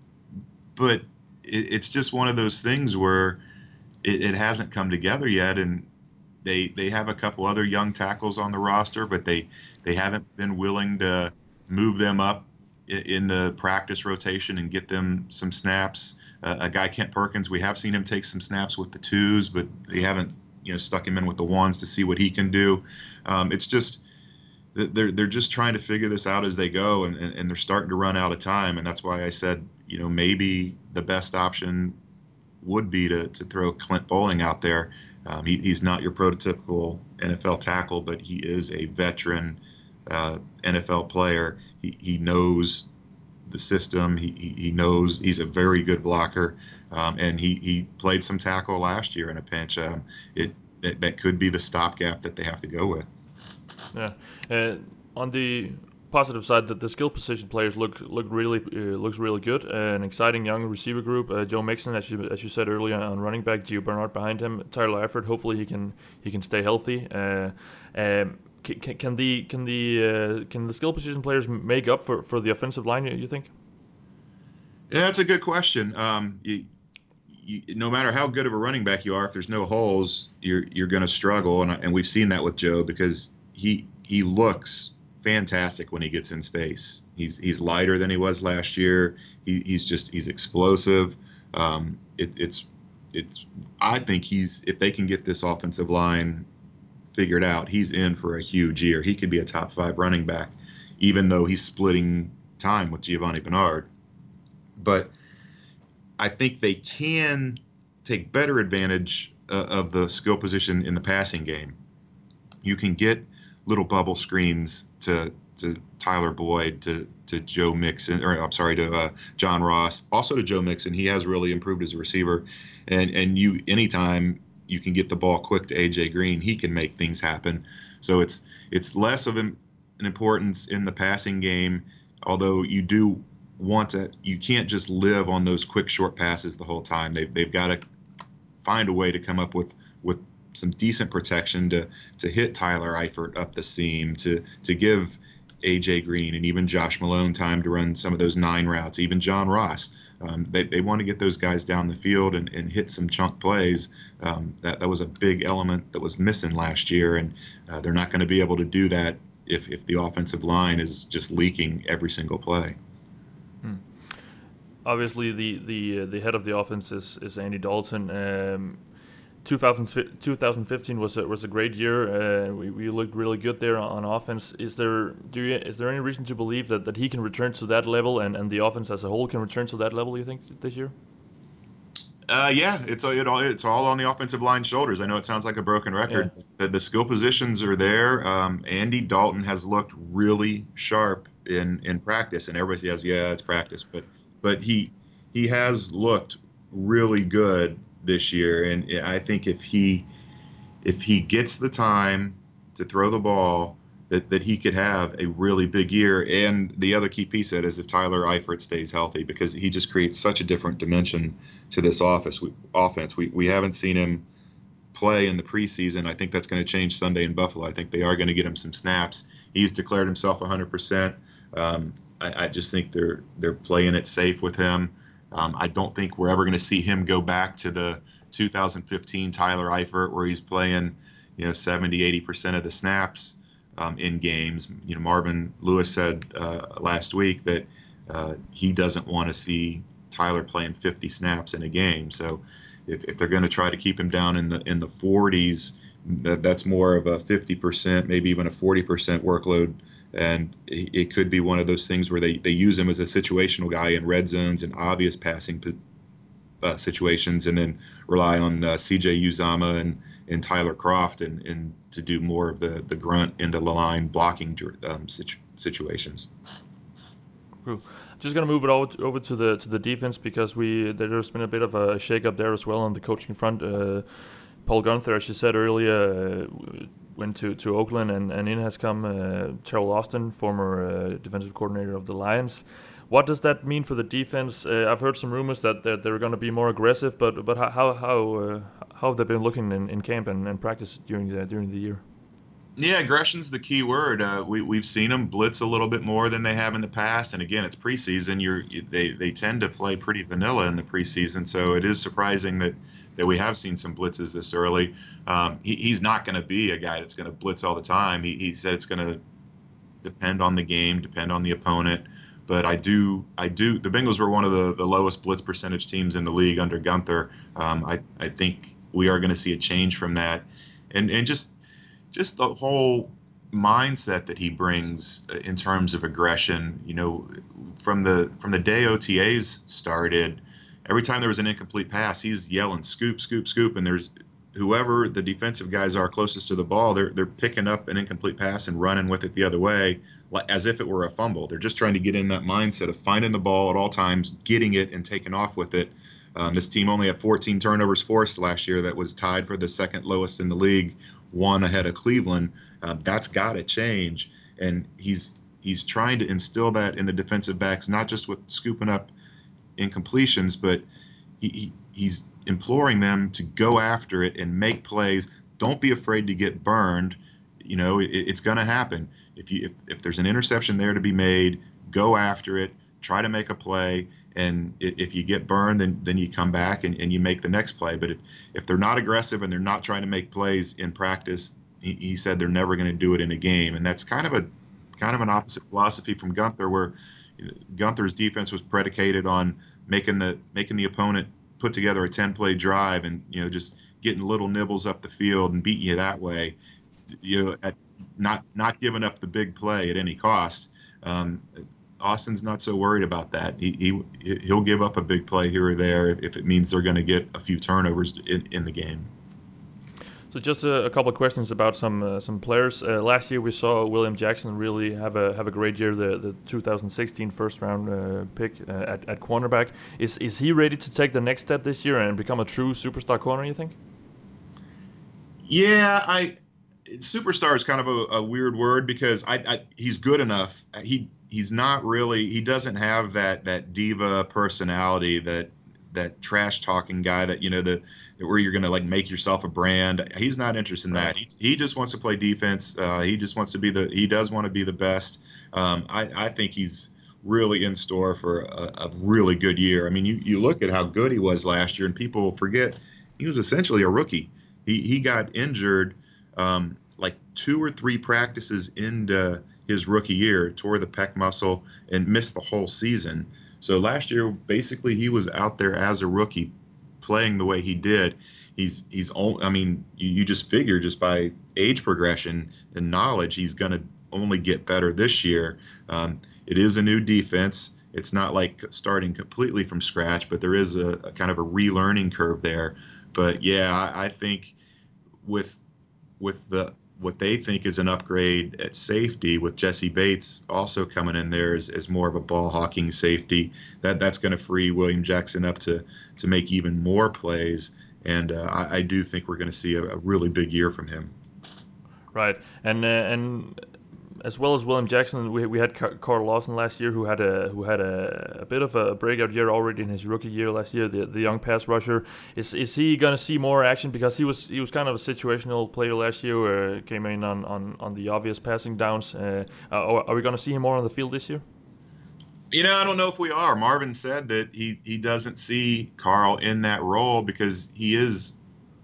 but it, it's just one of those things where it, it hasn't come together yet, and they they have a couple other young tackles on the roster, but they they haven't been willing to move them up in the practice rotation and get them some snaps. Uh, a guy, Kent Perkins, we have seen him take some snaps with the twos, but they haven't, you know, stuck him in with the ones to see what he can do. Um, it's just they're they're just trying to figure this out as they go, and, and they're starting to run out of time. And that's why I said, you know, maybe the best option would be to to throw Clint Bowling out there. Um, he, he's not your prototypical N F L tackle, but he is a veteran uh, N F L player. He he knows the system. He, he he knows he's a very good blocker, um, and he, he played some tackle last year in a pinch. Um, it, it that could be the stopgap that they have to go with. Yeah. Uh, on the positive side, that the skill position players look look really uh, looks really good. Uh, an exciting young receiver group. Uh, Joe Mixon, as you as you said earlier, on running back. Gio Bernard behind him. Tyler Eifert. Hopefully he can he can stay healthy. Uh, um, Can, can the can the uh, can the skill position players make up for, for the offensive line, you, you think? Yeah, that's a good question. Um, you, you, no matter how good of a running back you are, if there's no holes, you're you're going to struggle, and and we've seen that with Joe because he he looks fantastic when he gets in space. He's he's lighter than he was last year. He, he's just he's explosive. Um, it, it's it's I think he's if they can get this offensive line figured out, he's in for a huge year. He could be a top five running back, even though he's splitting time with Giovanni Bernard. But I think they can take better advantage uh, of the skill position in the passing game. You can get little bubble screens to to Tyler Boyd, to to Joe Mixon, or I'm sorry, to uh, John Ross, also to Joe Mixon. He has really improved as a receiver, and and you anytime you can get the ball quick to A J Green, he can make things happen. So it's it's less of an, an importance in the passing game, although you do want to, you can't just live on those quick short passes the whole time. They've, they've got to find a way to come up with, with some decent protection to to hit Tyler Eifert up the seam, to to give A J Green and even Josh Malone time to run some of those nine routes, even John Ross. Um, they, they want to get those guys down the field and, and hit some chunk plays. Um, that, that was a big element that was missing last year, and uh, they're not going to be able to do that if, if the offensive line is just leaking every single play. Hmm. Obviously, the the uh, the head of the offense is, is Andy Dalton. Um, two thousand fifteen was a, was a great year. Uh, we, we looked really good there on offense. Is there do you, is there any reason to believe that, that he can return to that level, and, and the offense as a whole can return to that level, you think, this year? Uh, yeah, it's it all it's all on the offensive line's shoulders. I know it sounds like a broken record. Yeah. The, the skill positions are there. Um, Andy Dalton has looked really sharp in, in practice, and everybody says, yeah, it's practice, but but he he has looked really good this year, and I think if he if he gets the time to throw the ball, that, that he could have a really big year. And the other key piece of it is if Tyler Eifert stays healthy, because he just creates such a different dimension to this office we, offense. We we haven't seen him play in the preseason. I think that's going to change Sunday in Buffalo. I think they are going to get him some snaps. He's declared himself one hundred percent. Um, I, I just think they're they're playing it safe with him. Um, I don't think we're ever going to see him go back to the two thousand fifteen Tyler Eifert where he's playing, you know, seventy, eighty percent of the snaps um, in games. You know, Marvin Lewis said uh, last week that uh, he doesn't want to see Tyler playing fifty snaps in a game. So if, if they're going to try to keep him down in the in the forties, that, that's more of a fifty percent, maybe even a forty percent workload. And it could be one of those things where they, they use him as a situational guy in red zones and obvious passing uh, situations, and then rely on uh, C J Uzomah and, and Tyler Croft and, and to do more of the, the grunt into the line blocking um, situ- situations. Cool. Just gonna move it over to, over to the to the defense, because we there's been a bit of a shake-up there as well on the coaching front. Uh, Paul Gunther, as you said earlier, uh, went to, to Oakland, and, and in has come uh, Terrell Austin, former uh, defensive coordinator of the Lions. What does that mean for the defense? Uh, I've heard some rumors that, that they're going to be more aggressive, but but how how uh, how have they been looking in, in camp and, and practice during the during the year? Yeah, aggression's the key word. Uh, we we've seen them blitz a little bit more than they have in the past, and again, it's preseason. You're they they tend to play pretty vanilla in the preseason, so it is surprising that. that we have seen some blitzes this early. Um, he, he's not going to be a guy that's going to blitz all the time. He, he said it's going to depend on the game, depend on the opponent. but I do, I do. The Bengals were one of the, the lowest blitz percentage teams in the league under Gunther. Um, I, I think we are going to see a change from that, and and just just the whole mindset that he brings in terms of aggression. You know, from the from the day O T As started, every time there was an incomplete pass, he's yelling scoop, scoop, scoop, and there's whoever the defensive guys are closest to the ball, they're they're picking up an incomplete pass and running with it the other way, as if it were a fumble. They're just trying to get in that mindset of finding the ball at all times, getting it, and taking off with it. Um, this team only had fourteen turnovers forced last year. That was tied for the second lowest in the league, one ahead of Cleveland. Uh, that's got to change, and he's he's trying to instill that in the defensive backs, not just with scooping up incompletions, but he, he he's imploring them to go after it and make plays. Don't be afraid to get burned. You know, it, it's going to happen. If you if, if there's an interception there to be made, go after it. Try to make a play. And if you get burned, then then you come back and, and you make the next play. But if, if they're not aggressive and they're not trying to make plays in practice, he, he said they're never going to do it in a game. And that's kind of a kind of an opposite philosophy from Gunther, where Gunther's defense was predicated on making the making the opponent put together a ten-play drive and, you know, just getting little nibbles up the field and beating you that way. You know, at not not giving up the big play at any cost. Um, Austin's not so worried about that. He, he he'll give up a big play here or there if it means they're going to get a few turnovers in, in the game. So just a, a couple of questions about some uh, some players. Uh, last year we saw William Jackson really have a have a great year. The the two thousand sixteen first round uh, pick uh, at at cornerback. Is is he ready to take the next step this year and become a true superstar corner, you think? Yeah, I superstar is kind of a, a weird word because I, I he's good enough. He he's not really he doesn't have that that diva personality, that that trash talking guy that, you know, the where you're going to like make yourself a brand. He's not interested in that. He he just wants to play defense. Uh, he just wants to be the he does want to be the best. Um, I I think he's really in store for a, a really good year. I mean, you you look at how good he was last year, and people forget he was essentially a rookie. He he got injured um, like two or three practices into his rookie year, tore the pec muscle, and missed the whole season. So last year, basically, he was out there as a rookie, playing the way he did. He's he's only, I mean, you, you just figure just by age progression and knowledge, he's going to only get better this year. Um, it is a new defense. It's not like starting completely from scratch, but there is a, a kind of a relearning curve there. But yeah, I, I think with with the what they think is an upgrade at safety, with Jesse Bates also coming in there as, as more of a ball hawking safety, that that's going to free William Jackson up to to make even more plays. And uh, I, I do think we're going to see a, a really big year from him. Right, and uh, and as well as William Jackson, we we had Carl Lawson last year, who had a who had a, a bit of a breakout year already in his rookie year last year. The the young pass rusher, is is he going to see more action, because he was he was kind of a situational player last year, where came in on, on, on the obvious passing downs. Uh, are, are we going to see him more on the field this year? You know, I don't know if we are. Marvin said that he he doesn't see Carl in that role because he is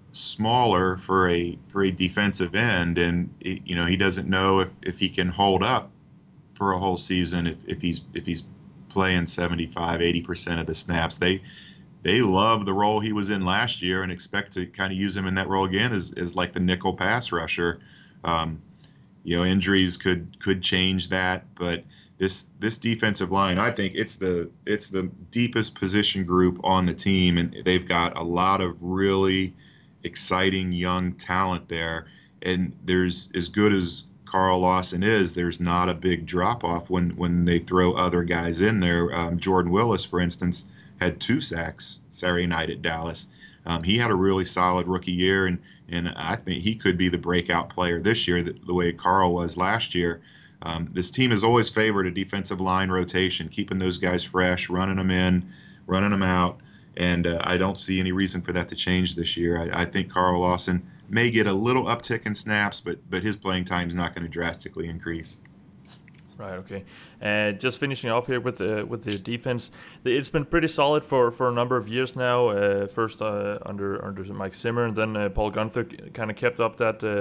smaller for a for a defensive end, and it, you know, he doesn't know if, if he can hold up for a whole season if, if he's if he's playing seventy-five, eighty percent of the snaps. They they love the role he was in last year and expect to kind of use him in that role again as, as like the nickel pass rusher. Um, you know, injuries could could change that, but this this defensive line, I think it's the it's the deepest position group on the team, and they've got a lot of really exciting young talent there. And there's, as good as Carl Lawson is, there's not a big drop off when when they throw other guys in there. Um, Jordan Willis, for instance, had two sacks Saturday night at Dallas. Um, he had a really solid rookie year, and and I think he could be the breakout player this year, the, the way Carl was last year. Um, this team has always favored a defensive line rotation, keeping those guys fresh, running them in, running them out. And uh, I don't see any reason for that to change this year. I, I think Carl Lawson may get a little uptick in snaps, but but his playing time is not going to drastically increase. Right. Okay. And uh, just finishing off here with the with the defense, it's been pretty solid for, for a number of years now. Uh, first uh, under under Mike Zimmer, and then uh, Paul Gunther kind of kept up that uh,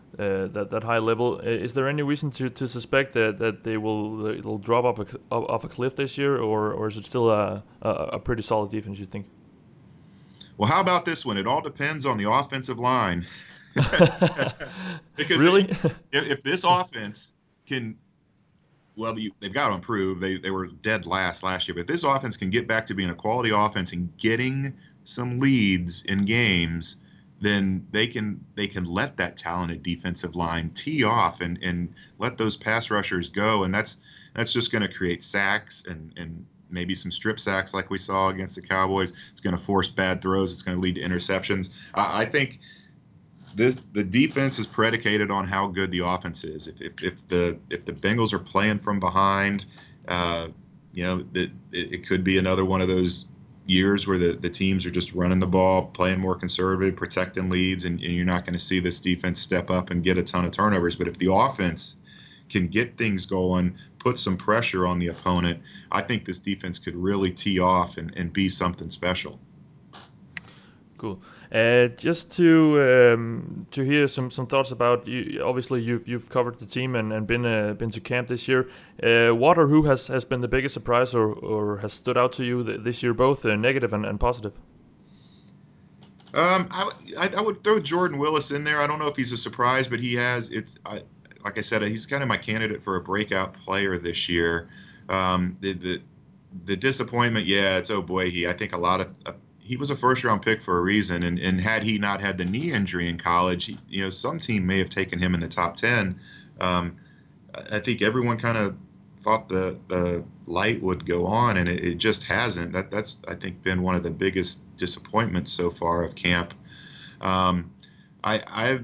uh, that that high level. Uh, is there any reason to, to suspect that, that they will it'll drop off a, off a cliff this year, or or is it still a, a a pretty solid defense, you think? Well, how about this one? It all depends on the offensive line. Because really, if, if this offense can, well, you, they've got to improve. They they were dead last last year, but if this offense can get back to being a quality offense and getting some leads in games, then they can they can let that talented defensive line tee off and, and let those pass rushers go, and that's that's just going to create sacks and, and maybe some strip sacks like we saw against the Cowboys. It's going to force bad throws. It's going to lead to interceptions. I, I think this the defense is predicated on how good the offense is. If if, if the if the Bengals are playing from behind, uh, you know, it, it could be another one of those years where the, the teams are just running the ball, playing more conservative, protecting leads, and, and you're not going to see this defense step up and get a ton of turnovers. But if the offense can get things going, put some pressure on the opponent, I think this defense could really tee off and, and be something special. Cool. Uh, just to um, to hear some, some thoughts about you. Obviously, you've you've covered the team and, and been uh, been to camp this year. Uh, what or who has, has been the biggest surprise or, or has stood out to you th- this year, both uh, negative and, and positive? Um, I, I I would throw Jordan Willis in there. I don't know if he's a surprise, but he has. It's I, like I said, he's kind of my candidate for a breakout player this year. Um, the the the disappointment, yeah, it's Ogbuehi. I think a lot of. Uh, He was a first-round pick for a reason, and, and had he not had the knee injury in college, he, you know, some team may have taken him in the top ten. Um, I think everyone kind of thought the the light would go on, and it, it just hasn't. That that's I think been one of the biggest disappointments so far of camp. Um, I I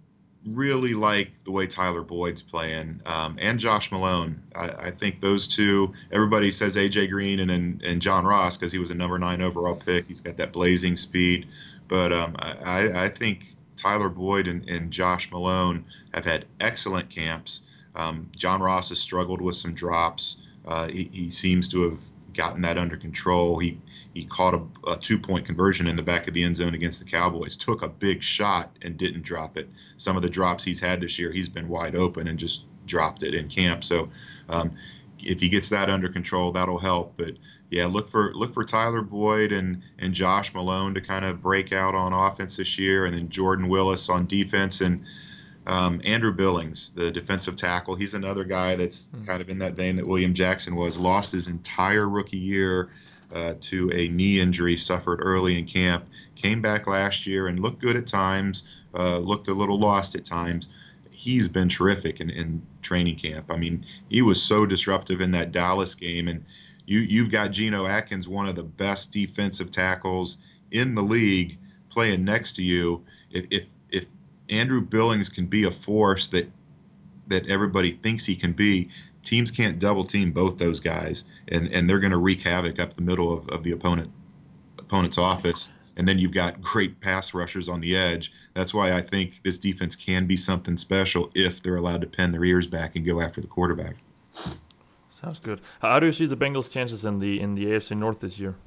really like the way Tyler Boyd's playing, um, and Josh Malone. I, I think those two. Everybody says A J Green and then and John Ross because he was a number nine overall pick. He's got that blazing speed, but um, I, I think Tyler Boyd and, and Josh Malone have had excellent camps. Um, John Ross has struggled with some drops. Uh, he, he seems to have gotten that under control. He he caught a, a two-point conversion in the back of the end zone against the Cowboys, took a big shot and didn't drop it. Some of the drops he's had this year, he's been wide open and just dropped it in camp. So um, if he gets that under control, that'll help. But yeah, look for look for Tyler Boyd and and Josh Malone to kind of break out on offense this year, and then Jordan Willis on defense, and Um, Andrew Billings, the defensive tackle, he's another guy that's mm-hmm. kind of in that vein that William Jackson was. Lost his entire rookie year uh, to a knee injury suffered early in camp. Came back last year and looked good at times, uh, looked a little lost at times. He's been terrific in, in training camp. I mean, he was so disruptive in that Dallas game. And you, you've got Geno Atkins, one of the best defensive tackles in the league, playing next to you. If, if Andrew Billings can be a force that that everybody thinks he can be, teams can't double team both those guys, and, and they're going to wreak havoc up the middle of, of the opponent opponent's office. And then you've got great pass rushers on the edge. That's why I think this defense can be something special if they're allowed to pin their ears back and go after the quarterback. Sounds good. How do you see the Bengals' chances in the in the A F C North this year?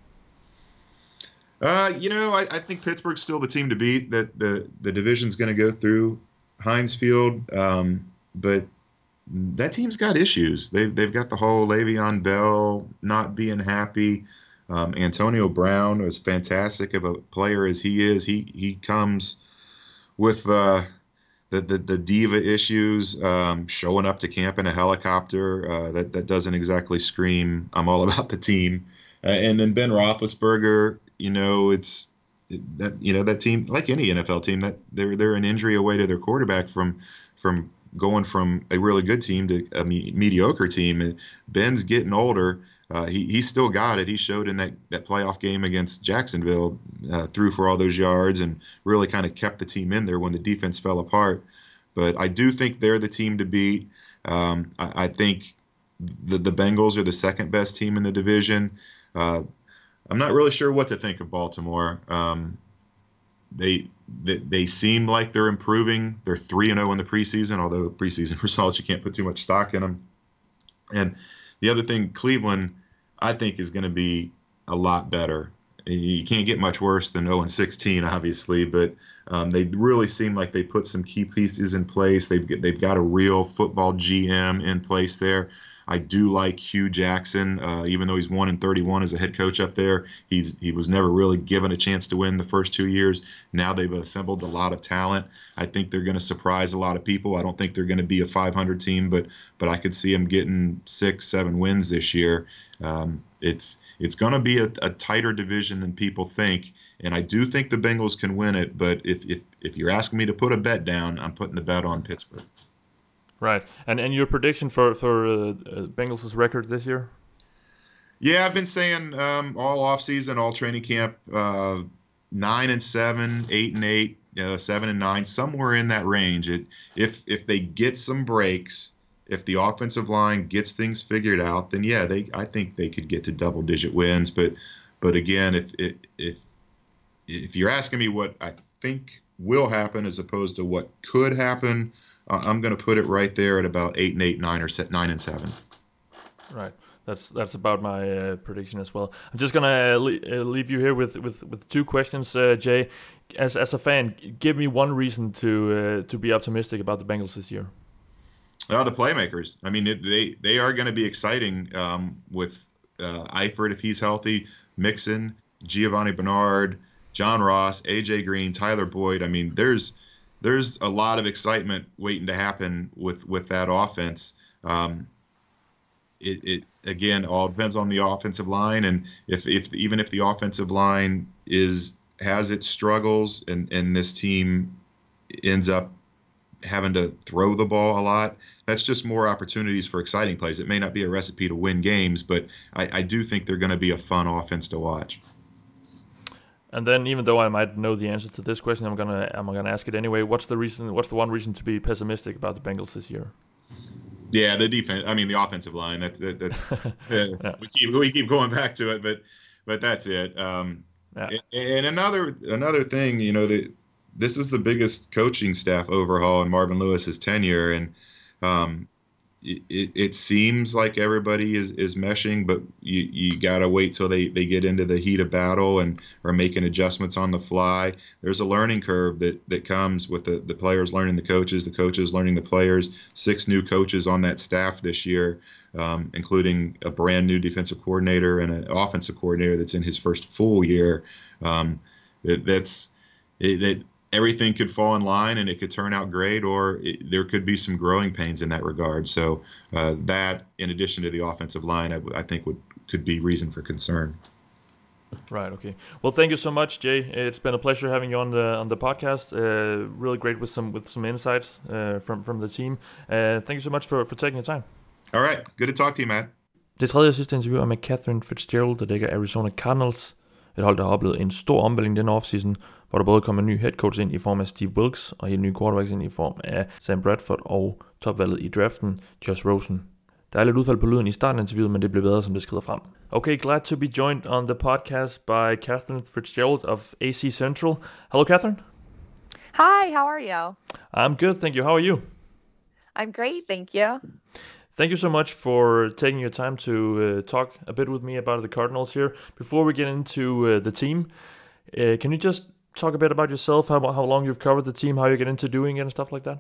Uh, you know, I, I think Pittsburgh's still the team to beat. That the the division's going to go through Heinz Field, um, but that team's got issues. They've they've got the whole Le'Veon Bell not being happy. Um, Antonio Brown, as fantastic of a player as he is, he he comes with uh, the, the the diva issues, um, showing up to camp in a helicopter. Uh, that that doesn't exactly scream I'm all about the team. Uh, and then Ben Roethlisberger. You know, it's that you know that team, like any N F L team, that they're they're an injury away to their quarterback from from going from a really good team to a me- mediocre team. And Ben's getting older. Uh, he he's still got it. He showed in that, that playoff game against Jacksonville, uh, threw for all those yards and really kind of kept the team in there when the defense fell apart. But I do think they're the team to beat. Um, I, I think the the Bengals are the second best team in the division. Uh, I'm not really sure what to think of Baltimore. Um, they, they they seem like they're improving. They're three and oh in the preseason, although preseason results, you can't put too much stock in them. And the other thing, Cleveland, I think, is going to be a lot better. you can't get much worse than oh and sixteen, obviously, but um, they really seem like they put some key pieces in place. They've they've got a real football G M in place there. I do like Hugh Jackson, uh, even though he's one and thirty-one as a head coach up there. He's he was never really given a chance to win the first two years. Now they've assembled a lot of talent. I think they're going to surprise a lot of people. I don't think they're going to be a five hundred team, but but I could see them getting six, seven wins this year. Um, it's it's going to be a, a tighter division than people think, and I do think the Bengals can win it. But if if if you're asking me to put a bet down, I'm putting the bet on Pittsburgh. Right, and and your prediction for for uh, uh, Bengals' record this year? Yeah, I've been saying um, all off season, all training camp, uh, nine and seven, eight and eight, uh, seven and nine, somewhere in that range. It, if if they get some breaks, if the offensive line gets things figured out, then yeah, they I think they could get to double digit wins. But but again, if if if if you're asking me what I think will happen as opposed to what could happen, I'm going to put it right there at about eight and eight, nine or set nine and seven. Right, that's that's about my uh, prediction as well. I'm just going to uh, le- uh, leave you here with, with, with two questions, uh, Jay. As as a fan, give me one reason to uh, to be optimistic about the Bengals this year. Uh, the playmakers. I mean, it, they they are going to be exciting um, with uh, Eifert if he's healthy, Mixon, Giovanni Bernard, John Ross, A J Green, Tyler Boyd. I mean, there's There's a lot of excitement waiting to happen with, with that offense. Um, it, it again all depends on the offensive line, and if, if even if the offensive line is has its struggles, and, and this team ends up having to throw the ball a lot, that's just more opportunities for exciting plays. It may not be a recipe to win games, but I, I do think they're going to be a fun offense to watch. And then, even though I might know the answer to this question, I'm gonna I'm gonna ask it anyway. What's the reason? What's the one reason to be pessimistic about the Bengals this year? Yeah, the defense. I mean, the offensive line. That, that that's uh, yeah. we keep we keep going back to it, but but that's it. Um, yeah. And another another thing, you know, the, this is the biggest coaching staff overhaul in Marvin Lewis's tenure, and um, it, it seems like everybody is, is meshing, but you, you got to wait till they, they get into the heat of battle and are making adjustments on the fly. There's a learning curve that, that comes with the, the players learning the coaches, the coaches learning the players. Six new coaches on that staff this year, um, including a brand new defensive coordinator and an offensive coordinator that's in his first full year. Um, that, that's it, that. Everything could fall in line and it could turn out great, or it, there could be some growing pains in that regard. So uh, that, in addition to the offensive line, I, I think would could be reason for concern. Right. Okay. Well, thank you so much, Jay. It's been a pleasure having you on the on the podcast. Uh, really great with some with some insights uh, from from the team. Uh, thank you so much for for taking your time. All right. Good to talk to you, Matt. Det tredje og sidste interview er med Catherine Fitzgerald, der dækker Arizona Cardinals. Et hold, der har oplevet en stor omvæltning denne offseason, hvor der både kommer en ny head coach ind i form af Steve Wilks, og helt nye quarterbacks ind i form af Sam Bradford og topvalget i draften, Josh Rosen. Der er lidt udfald på lyden i starten af interviewet, men det bliver bedre, som det skrider frem. Okay, glad to be joined on the podcast by Catherine Fitzgerald of A C Central. Hello, Catherine. Hi, how are you? I'm good, thank you. How are you? I'm great, thank you. Thank you so much for taking your time to uh, talk a bit with me about the Cardinals here. Before we get into uh, the team, uh, can you just talk a bit about yourself, how, how long you've covered the team, how you get into doing it and stuff like that?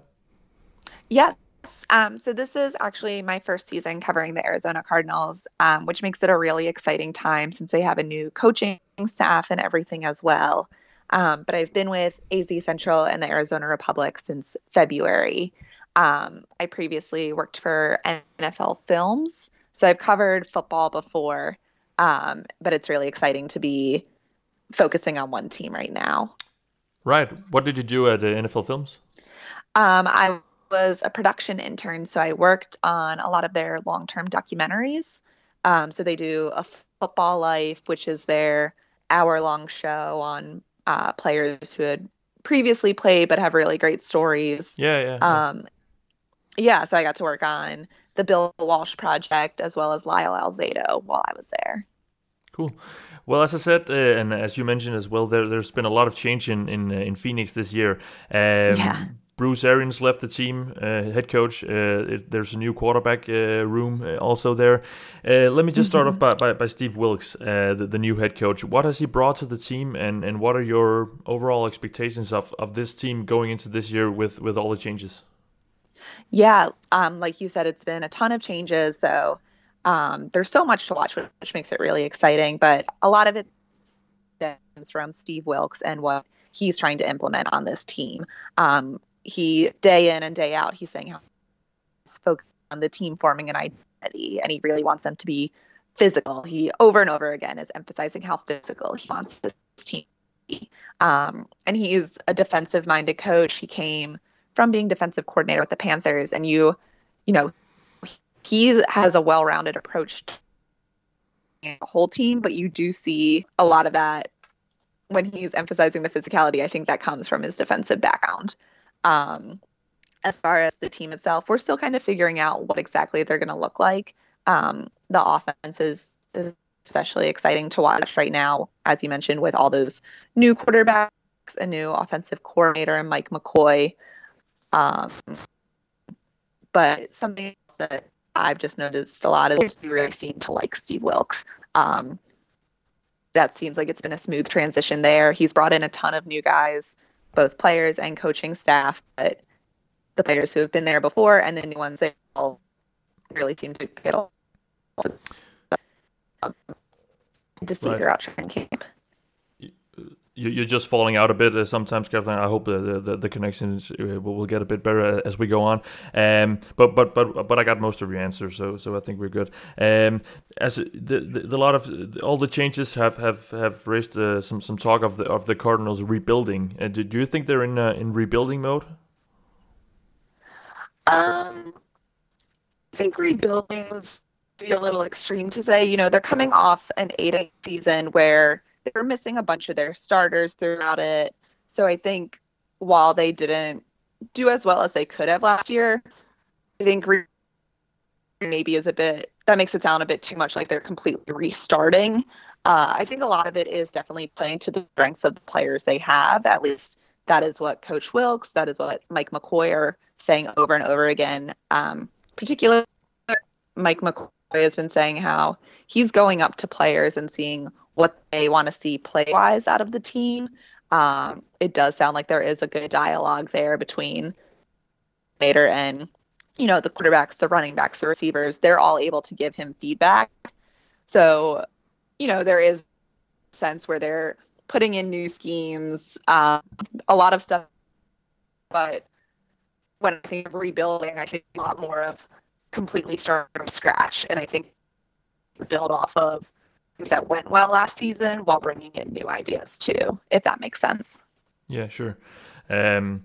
Yes. Um, so this is actually my first season covering the Arizona Cardinals, um, which makes it a really exciting time since they have a new coaching staff and everything as well. Um, but I've been with A Z Central and the Arizona Republic since February. Um, I previously worked for N F L Films, so I've covered football before, um, but it's really exciting to be focusing on one team right now. Right. What did you do at uh, N F L Films? Um, I was a production intern, so I worked on a lot of their long-term documentaries. Um, so they do A Football Life, which is their hour-long show on uh, players who had previously played but have really great stories. Yeah, yeah. yeah. Um, yeah, so I got to work on the Bill Walsh project as well as Lyle Alzado while I was there. Cool. Well, as I said, uh, and as you mentioned as well, there, there's been a lot of change in in, uh, in Phoenix this year. Um, yeah. Bruce Arians left the team, uh, head coach. Uh, it, there's a new quarterback uh, room uh, also there. Uh, let me just start mm-hmm. off by, by, by Steve Wilks, uh, the, the new head coach. What has he brought to the team, and, and what are your overall expectations of, of this team going into this year with, with all the changes? Yeah, um, like you said, it's been a ton of changes, so um, there's so much to watch, which makes it really exciting. But a lot of it stems from Steve Wilks and what he's trying to implement on this team. Um, he, day in and day out, he's saying how he's focused on the team forming an identity, and he really wants them to be physical. He, over and over again, is emphasizing how physical he wants this team to be. Um, and he's a defensive-minded coach. He came from being defensive coordinator with the Panthers, and you, you know, he has a well-rounded approach to the whole team, but you do see a lot of that when he's emphasizing the physicality. I think that comes from his defensive background. Um, as far as the team itself, we're still kind of figuring out what exactly they're going to look like. Um, the offense is, is especially exciting to watch right now, as you mentioned, with all those new quarterbacks, a new offensive coordinator, and Mike McCoy. Um, but something else that I've just noticed a lot is you really seem to like Steve Wilks. Um, that seems like it's been a smooth transition there. He's brought in a ton of new guys, both players and coaching staff, but the players who have been there before and the new ones, they all really seem to get along to see right. throughout training camp. You're just falling out a bit uh, sometimes, Kathleen. I hope the the, the connections uh, will get a bit better as we go on. Um, but but but but I got most of your answers, so so I think we're good. Um, as the, the, the lot of all the changes have have have raised uh, some some talk of the of the Cardinals rebuilding. Uh, do, do you think they're in uh, in rebuilding mode? Um, I think rebuilding is be a little extreme to say. You know, they're coming off an eight-eight season where they were missing a bunch of their starters throughout it. So I think while they didn't do as well as they could have last year, I think re- maybe is a bit, that makes it sound a bit too much like they're completely restarting. Uh, I think a lot of it is definitely playing to the strengths of the players they have. At least that is what Coach Wilks, that is what Mike McCoy are saying over and over again. Um, particularly Mike McCoy has been saying how he's going up to players and seeing what they want to see play-wise out of the team. Um, it does sound like there is a good dialogue there between Nader and, you know, the quarterbacks, the running backs, the receivers. They're all able to give him feedback. So, you know, there is a sense where they're putting in new schemes, um, a lot of stuff. But when I think of rebuilding, I think a lot more of completely starting from scratch. And I think build off of that went well last season while bringing in new ideas too, if that makes sense. Yeah, sure. Um,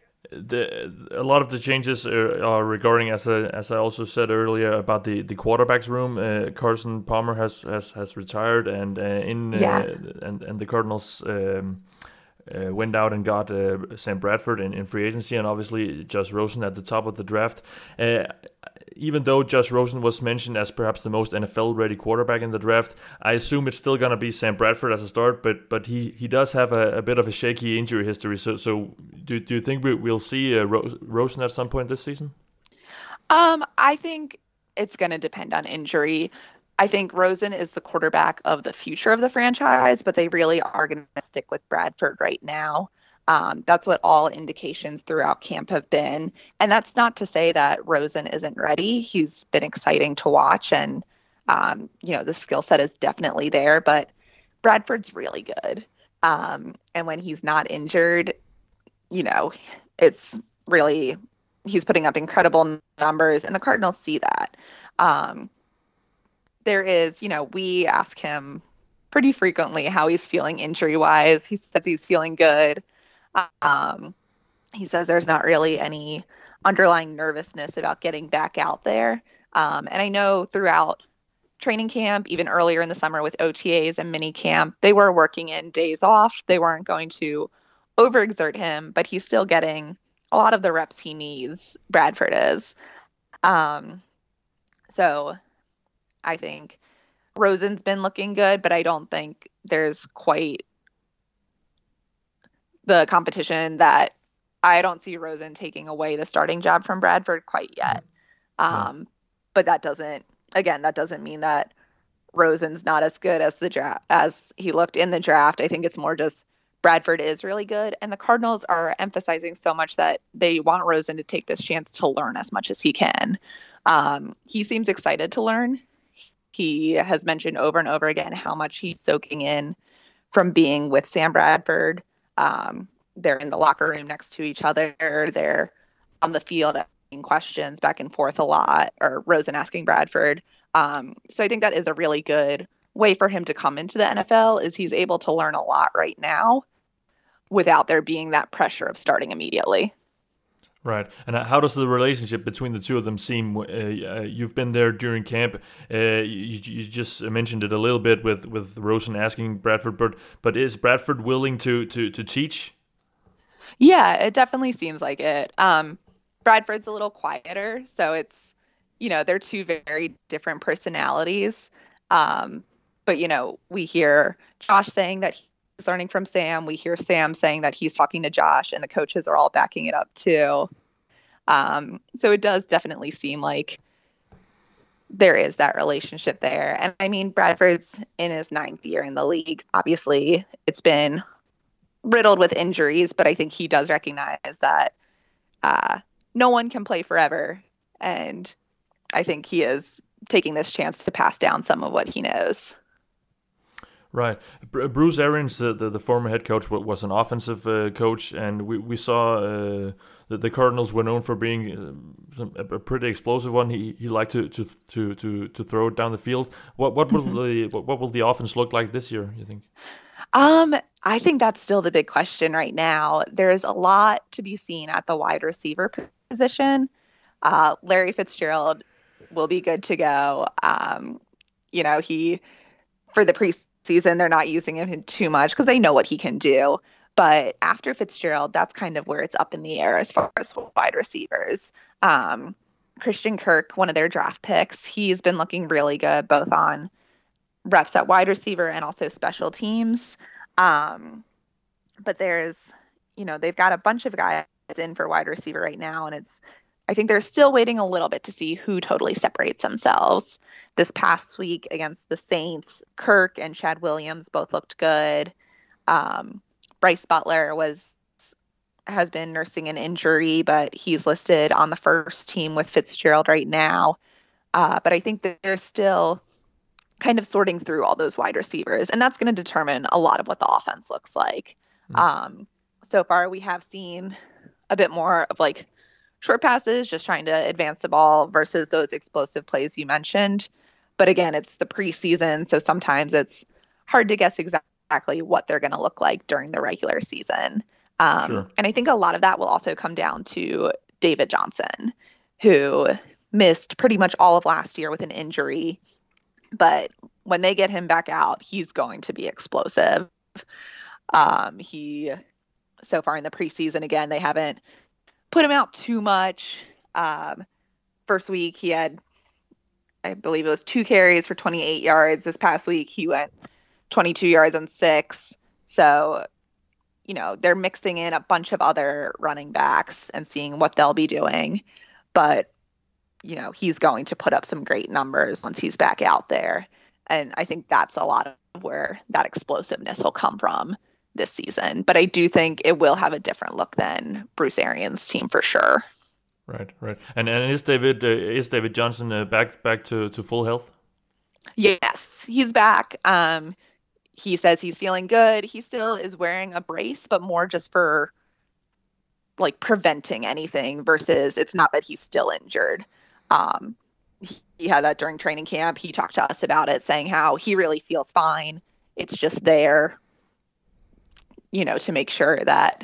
the a lot of the changes are, are regarding, as I, as I also said earlier, about the, the quarterbacks room. Uh, Carson Palmer has, has, has retired, and uh, in uh, yeah. and and the Cardinals um, uh, went out and got uh, Sam Bradford in, in free agency, and obviously Josh Rosen at the top of the draft. Uh, even though Josh Rosen was mentioned as perhaps the most N F L-ready quarterback in the draft, I assume it's still going to be Sam Bradford as a start, but but he, he does have a, a bit of a shaky injury history. So so do do you think we, we'll see uh, Ro- Rosen at some point this season? Um, I think it's going to depend on injury. I think Rosen is the quarterback of the future of the franchise, but they really are going to stick with Bradford right now. Um, that's what all indications throughout camp have been. And that's not to say that Rosen isn't ready. He's been exciting to watch, and, um, you know, the skill set is definitely there, but Bradford's really good. Um, and when he's not injured, you know, it's really, he's putting up incredible numbers, and the Cardinals see that. Um, there is, you know, we ask him pretty frequently how he's feeling injury-wise. He says he's feeling good. Um, he says there's not really any underlying nervousness about getting back out there. Um, and I know throughout training camp, even earlier in the summer with O T As and mini camp, they were working in days off. They weren't going to overexert him, but he's still getting a lot of the reps he needs. Bradford is. Um, so I think Rosen's been looking good, but I don't think there's quite the competition that I don't see Rosen taking away the starting job from Bradford quite yet. Um, yeah. But that doesn't, again, that doesn't mean that Rosen's not as good as the draft as he looked in the draft. I think it's more just Bradford is really good, and the Cardinals are emphasizing so much that they want Rosen to take this chance to learn as much as he can. Um, he seems excited to learn. He has mentioned over and over again how much he's soaking in from being with Sam Bradford. Um, they're in the locker room next to each other. They're on the field asking questions back and forth a lot, or Rosen asking Bradford. Um, so I think that is a really good way for him to come into the N F L, is he's able to learn a lot right now without there being that pressure of starting immediately. Right. And how does the relationship between the two of them seem? Uh, uh, you've been there during camp. Uh, you, you just mentioned it a little bit with, with Rosen asking Bradford, but but is Bradford willing to to, to teach? Yeah, it definitely seems like it. Um, Bradford's a little quieter, so it's, you know, they're two very different personalities. Um, but, you know, we hear Josh saying that he's learning from Sam. We hear Sam saying that he's talking to Josh, and the coaches are all backing it up too. Um, so it does definitely seem like there is that relationship there. And I mean, Bradford's in his ninth year in the league. Obviously, it's been riddled with injuries, but I think he does recognize that uh, no one can play forever. And I think he is taking this chance to pass down some of what he knows. Right. Bruce Arians, the, the, the former head coach, was an offensive uh, coach, and we, we saw uh, that the Cardinals were known for being uh, a pretty explosive one. He he liked to to, to, to, to throw it down the field. What what will the what, what will the offense look like this year, you think? Um, I think that's still the big question right now. There's a lot to be seen at the wide receiver position. Uh, Larry Fitzgerald will be good to go. Um, you know, he for the preseason, season they're not using him too much because they know what he can do, but after Fitzgerald, that's kind of where it's up in the air as far as wide receivers. um Christian Kirk, one of their draft picks, he's been looking really good both on reps at wide receiver and also special teams. Um but there's, you know, they've got a bunch of guys in for wide receiver right now, and it's I think they're still waiting a little bit to see who totally separates themselves. This past week against the Saints, Kirk and Chad Williams both looked good. Um, Bryce Butler was has been nursing an injury, but he's listed on the first team with Fitzgerald right now. Uh, but I think that they're still kind of sorting through all those wide receivers, and that's going to determine a lot of what the offense looks like. Mm-hmm. Um, so far, we have seen a bit more of like short passes, just trying to advance the ball versus those explosive plays you mentioned. But again, it's the preseason, so sometimes it's hard to guess exactly what they're going to look like during the regular season. Um, sure. And I think a lot of that will also come down to David Johnson, who missed pretty much all of last year with an injury. But when they get him back out, he's going to be explosive. Um, he, so far in the preseason, again, they haven't put him out too much. Um, first week he had, I believe it was two carries for twenty-eight yards. This past week he went twenty-two yards on six. So, you know, they're mixing in a bunch of other running backs and seeing what they'll be doing. But, you know, he's going to put up some great numbers once he's back out there. And I think that's a lot of where that explosiveness will come from this season. But I do think it will have a different look than Bruce Arians' team for sure. Right, right. And and is David uh, is David Johnson uh, back back to, to full health? Yes, he's back. Um, he says he's feeling good. He still is wearing a brace, but more just for like preventing anything versus it's not that he's still injured. Um, he, he had that during training camp. He talked to us about it, saying how he really feels fine. It's just there, you know, to make sure that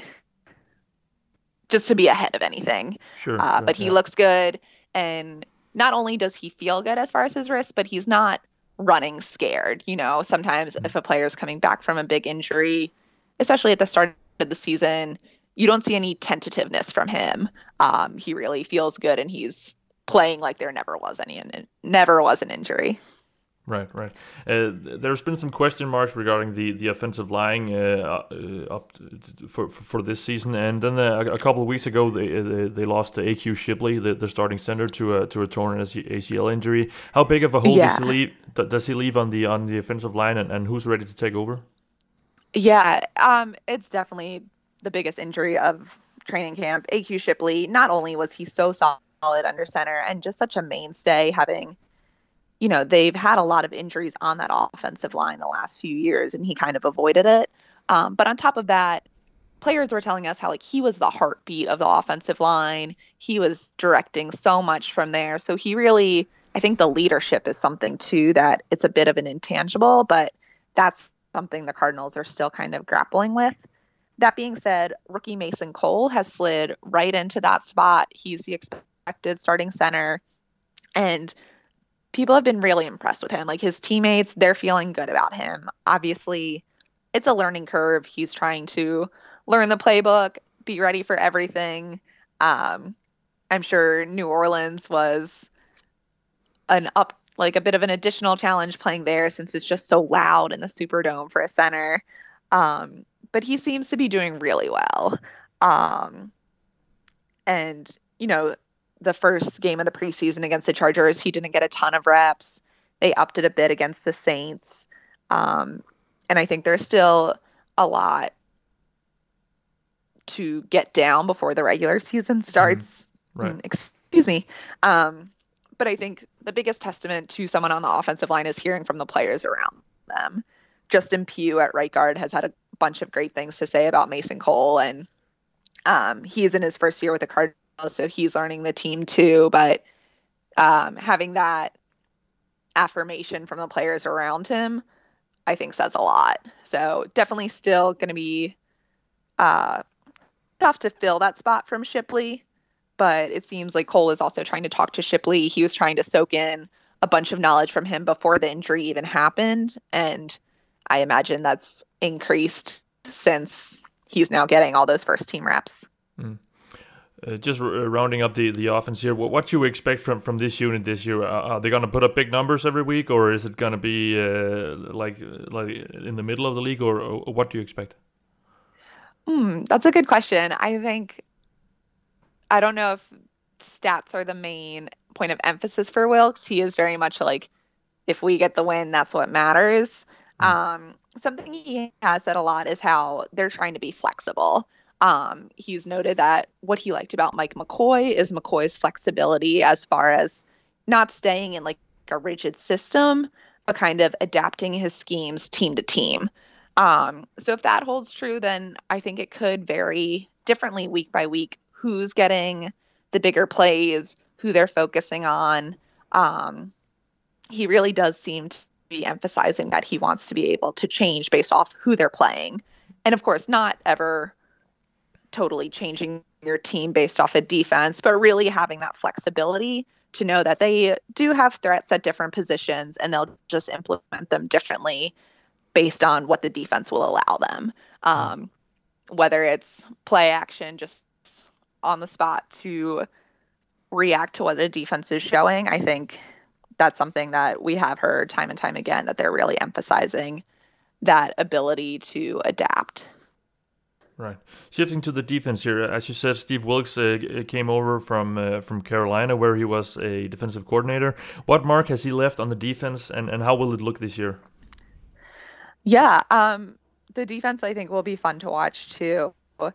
just to be ahead of anything. Sure. Uh, sure but he yeah. looks good. And not only does he feel good as far as his wrist, but he's not running scared. You know, sometimes mm-hmm. if a player's coming back from a big injury, especially at the start of the season, you don't see any tentativeness from him. Um, he really feels good, and he's playing like there never was any, never was an injury. Right, right. Uh, there's been some question marks regarding the, the offensive line uh, uh, up to, for for this season, and then uh, a couple of weeks ago they they, they lost A Q Shipley, the, the starting center, to a to a torn A C L injury. How big of a hole yeah. does he leave? Does he leave on the on the offensive line, and, and who's ready to take over? Yeah, um, it's definitely the biggest injury of training camp. A Q Shipley. Not only was he so solid under center and just such a mainstay, having. You know, they've had a lot of injuries on that offensive line the last few years, and he kind of avoided it. Um, but on top of that, players were telling us how, like, he was the heartbeat of the offensive line. He was directing so much from there. So he really, I think the leadership is something, too, that it's a bit of an intangible, but that's something the Cardinals are still kind of grappling with. That being said, rookie Mason Cole has slid right into that spot. He's the expected starting center, and people have been really impressed with him. Like, his teammates, they're feeling good about him. Obviously, it's a learning curve. He's trying to learn the playbook, be ready for everything. Um, I'm sure New Orleans was an up, like a bit of an additional challenge playing there, since it's just so loud in the Superdome for a center. Um, but he seems to be doing really well. Um, and, you know, the first game of the preseason against the Chargers, he didn't get a ton of reps. They upped it a bit against the Saints. Um, and I think there's still a lot to get down before the regular season starts. Mm-hmm. Right. Mm, excuse me. Um, but I think the biggest testament to someone on the offensive line is hearing from the players around them. Justin Pugh at right guard has had a bunch of great things to say about Mason Cole, and um, he's in his first year with the Cardinals, so he's learning the team too. But um, having that affirmation from the players around him, I think says a lot. So definitely still going to be uh, tough to fill that spot from Shipley, but it seems like Cole is also trying to talk to Shipley. He was trying to soak in a bunch of knowledge from him before the injury even happened, and I imagine that's increased since he's now getting all those first team reps. Mm. Uh, just r- rounding up the, the offense here, what, what do you expect from, from this unit this year? Uh, are they going to put up big numbers every week, or is it going to be uh, like like in the middle of the league, or, or what do you expect? Mm, that's a good question. I think, I don't know if stats are the main point of emphasis for Wilks. He is very much like, if we get the win, that's what matters. Mm. Um, something he has said a lot is how they're trying to be flexible. Um, he's noted that what he liked about Mike McCoy is McCoy's flexibility as far as not staying in like a rigid system, but kind of adapting his schemes team to team. Um, so if that holds true, then I think it could vary differently week by week, who's getting the bigger plays, who they're focusing on. Um, he really does seem to be emphasizing that he wants to be able to change based off who they're playing. And of course, not ever totally changing your team based off a defense, but really having that flexibility to know that they do have threats at different positions and they'll just implement them differently based on what the defense will allow them. Um, whether it's play action just on the spot to react to what the defense is showing, I think that's something that we have heard time and time again, that they're really emphasizing that ability to adapt. Right. Shifting to the defense here, as you said, Steve Wilks uh, came over from uh, from Carolina, where he was a defensive coordinator. What mark has he left on the defense, and, and how will it look this year? Yeah, um, the defense I think will be fun to watch too.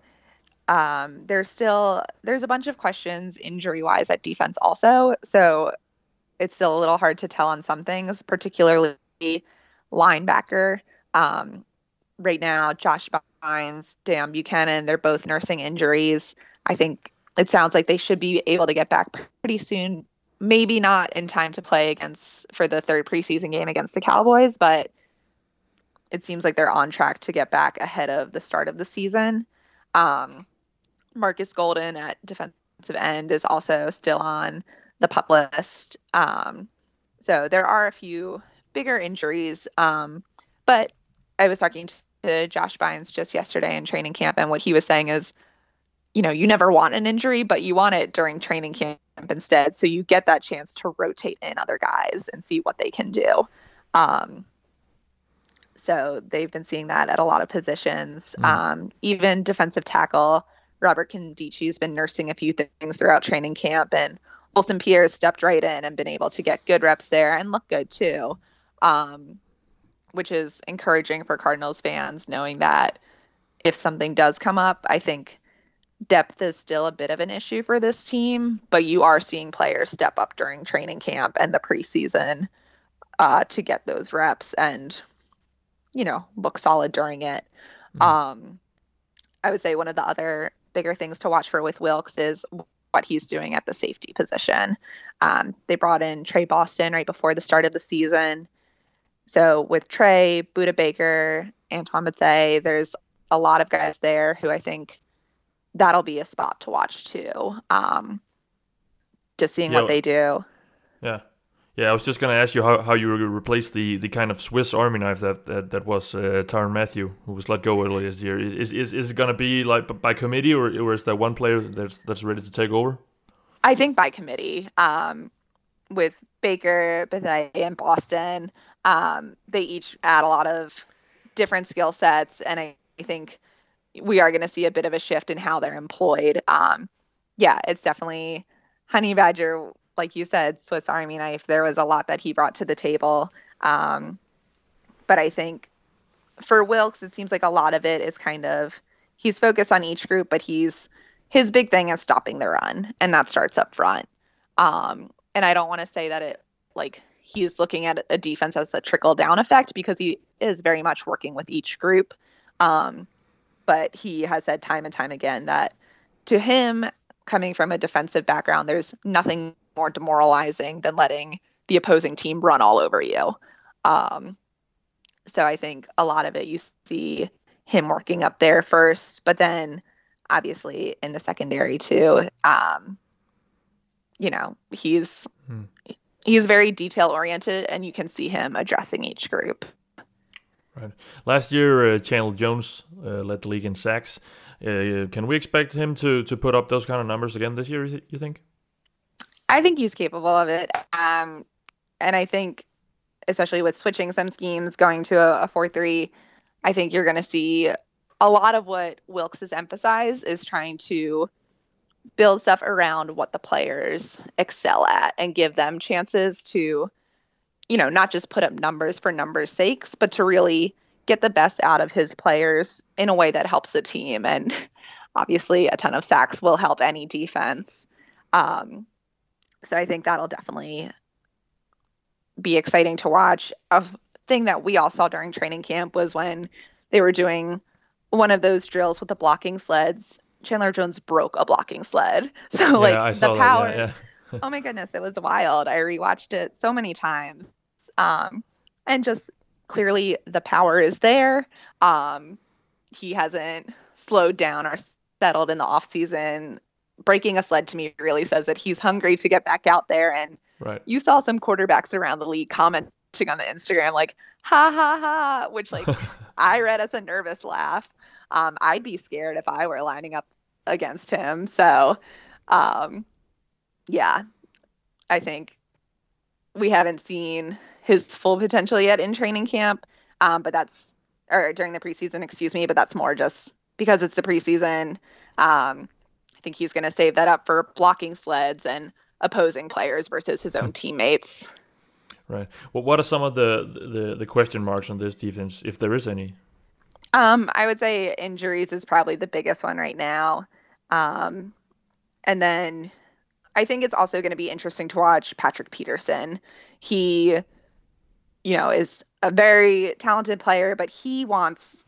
Um, there's still there's a bunch of questions injury wise at defense also, so it's still a little hard to tell on some things, particularly linebacker. Um, right now, Josh Bynes, Dan Buchanan, they're both nursing injuries. I think it sounds like they should be able to get back pretty soon. Maybe not in time to play against for the third preseason game against the Cowboys, but it seems like they're on track to get back ahead of the start of the season. Um, Marcus Golden at defensive end is also still on the PUP list. Um, so there are a few bigger injuries. Um, but I was talking to Josh Bynes just yesterday in training camp, and what he was saying is, you know, you never want an injury, but you want it during training camp instead. So you get that chance to rotate in other guys and see what they can do. Um, so they've been seeing that at a lot of positions. Mm. Um, even defensive tackle, Robert Condici's been nursing a few things throughout training camp, and Olsen Pierre stepped right in and been able to get good reps there and look good too, um, which is encouraging for Cardinals fans, knowing that if something does come up, I think depth is still a bit of an issue for this team, but you are seeing players step up during training camp and the preseason uh, to get those reps and, you know, look solid during it. Mm. Um, I would say one of the other bigger things to watch for with Wilks is what he's doing at the safety position. Um, they brought in Trey Boston right before the start of the season. So with Trey, Budda Baker, Antoine Bethea, there's a lot of guys there who I think that'll be a spot to watch too. Um, just seeing yeah, what they do. Yeah. Yeah, I was just going to ask you how, how you replace the, the kind of Swiss Army knife that that, that was uh, Tyrann Mathieu, who was let go earlier this year. Is is is it going to be like by committee, or, or is there one player that's that's ready to take over? I think by committee. Um, with Baker, Bethea, and Boston, um, they each add a lot of different skill sets, and I, I think we are going to see a bit of a shift in how they're employed. Um, yeah, it's definitely Honey Badger. Like you said, Swiss Army knife, there was a lot that he brought to the table. Um, but I think for Wilks, it seems like a lot of it is kind of, he's focused on each group, but he's, his big thing is stopping the run, and that starts up front. Um, and I don't want to say that it, like, he's looking at a defense as a trickle down effect, because he is very much working with each group. Um, but he has said time and time again that to him, coming from a defensive background, there's nothing more demoralizing than letting the opposing team run all over you. Um, so I think a lot of it, you see him working up there first, but then obviously in the secondary too. Um, you know, he's hmm. he's very detail oriented, and you can see him addressing each group. Right. Last year, uh, Chandler Jones uh, led the league in sacks. Uh, can we expect him to to put up those kind of numbers again this year, you think? I think he's capable of it. Um, and I think, especially with switching some schemes, going to a, a four three, I think you're going to see a lot of what Wilks has emphasized is trying to build stuff around what the players excel at and give them chances to, you know, not just put up numbers for numbers' sakes, but to really get the best out of his players in a way that helps the team. And obviously a ton of sacks will help any defense. Um, So I think that'll definitely be exciting to watch. A thing that we all saw during training camp was when they were doing one of those drills with the blocking sleds, Chandler Jones broke a blocking sled. So yeah, like I the power, that, yeah, yeah. Oh my goodness, it was wild. I rewatched it so many times. Um, and just clearly the power is there. Um, he hasn't slowed down or settled in the off season. Breaking a sled to me really says that he's hungry to get back out there. And right. You saw some quarterbacks around the league commenting on the Instagram like, ha, ha, ha, which like I read as a nervous laugh. Um, I'd be scared if I were lining up against him. So, um, yeah, I think we haven't seen his full potential yet in training camp. Um, but that's, or during the preseason, excuse me, but that's more just because it's the preseason. Um, I think he's going to save that up for blocking sleds and opposing players versus his own teammates. Right. Well, what are some of the, the, the question marks on this defense, if there is any? Um, I would say injuries is probably the biggest one right now. Um, and then I think it's also going to be interesting to watch Patrick Peterson. He, you know, is a very talented player, but he wants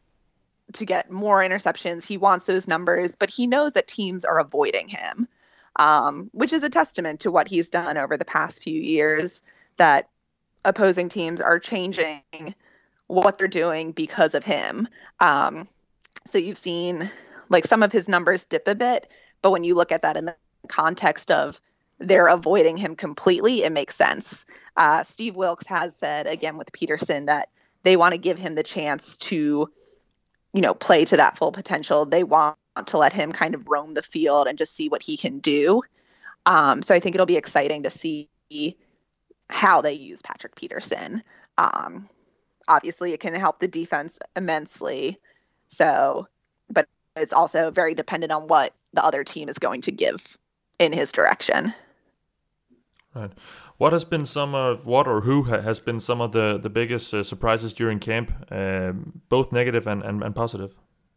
to get more interceptions. He wants those numbers, but he knows that teams are avoiding him, um, which is a testament to what he's done over the past few years, that opposing teams are changing what they're doing because of him. Um, so you've seen like some of his numbers dip a bit, but when you look at that in the context of they're avoiding him completely, it makes sense. Uh, Steve Wilks has said, again, with Peterson, that they want to give him the chance to, you know, play to that full potential. They want to let him kind of roam the field and just see what he can do. Um, so I think it'll be exciting to see how they use Patrick Peterson. Um, obviously, it can help the defense immensely. So, but it's also very dependent on what the other team is going to give in his direction. Right. What has been some of what or who ha- has been some of the the biggest uh, surprises during camp, um, both negative and, and, and positive?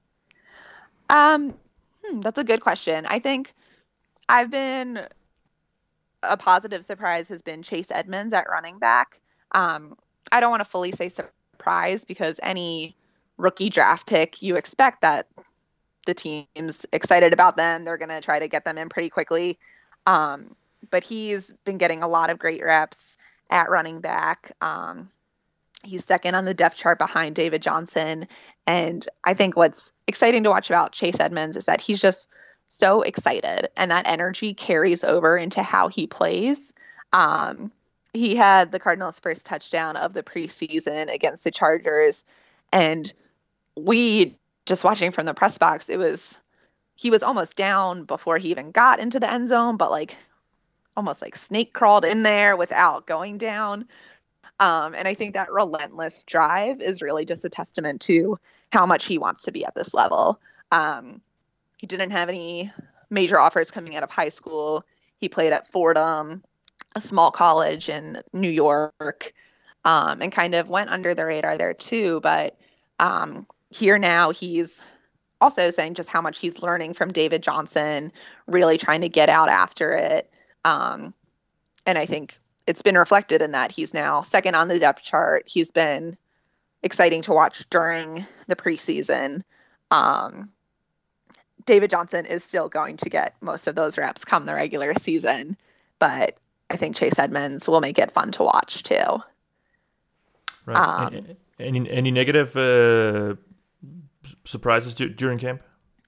Um, hmm, that's a good question. I think I've been a positive surprise has been Chase Edmonds at running back. Um, I don't want to fully say surprise because any rookie draft pick, you expect that the team's excited about them. They're going to try to get them in pretty quickly. Um, but he's been getting a lot of great reps at running back. Um, he's second on the depth chart behind David Johnson. And I think what's exciting to watch about Chase Edmonds is that he's just so excited, and that energy carries over into how he plays. Um, he had the Cardinals' first touchdown of the preseason against the Chargers, and we just watching from the press box, it was he was almost down before he even got into the end zone, but like almost like snake crawled in there without going down. Um, and I think that relentless drive is really just a testament to how much he wants to be at this level. Um, he didn't have any major offers coming out of high school. He played at Fordham, a small college in New York, um, and kind of went under the radar there too. But um, here now he's also saying just how much he's learning from David Johnson, really trying to get out after it. Um, and I think it's been reflected in that he's now second on the depth chart. He's been exciting to watch during the preseason. Um, David Johnson is still going to get most of those reps come the regular season, but I think Chase Edmonds will make it fun to watch too. Right. Um, any any negative uh, surprises d- during camp?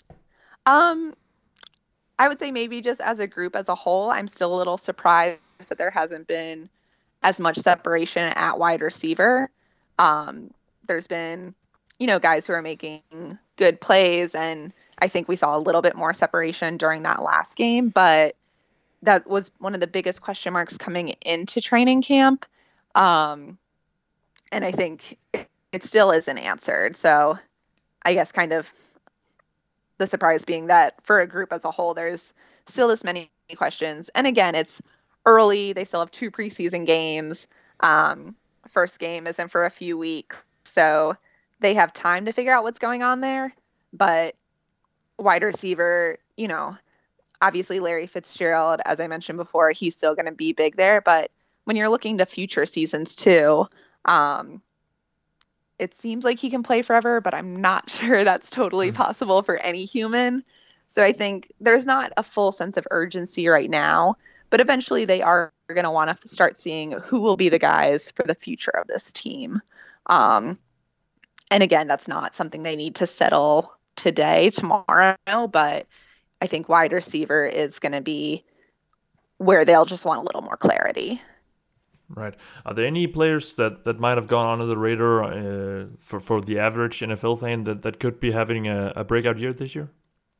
Um, I would say maybe just as a group as a whole, I'm still a little surprised that there hasn't been as much separation at wide receiver. Um, there's been, you know, guys who are making good plays, and I think we saw a little bit more separation during that last game, but that was one of the biggest question marks coming into training camp. Um, and I think it still isn't answered. So I guess kind of the surprise being that for a group as a whole, there's still this many questions. And again, it's early. They still have two preseason games. Um, first game isn't for a few weeks. So they have time to figure out what's going on there. But wide receiver, you know, obviously Larry Fitzgerald, as I mentioned before, he's still going to be big there. But when you're looking to future seasons too, um, it seems like he can play forever, but I'm not sure that's totally possible for any human. So I think there's not a full sense of urgency right now, but eventually they are going to want to start seeing who will be the guys for the future of this team. Um, and again, that's not something they need to settle today, tomorrow, but I think wide receiver is going to be where they'll just want a little more clarity. Right. Are there any players that, that might have gone under the radar uh, for, for the average N F L fan that, that could be having a, a breakout year this year?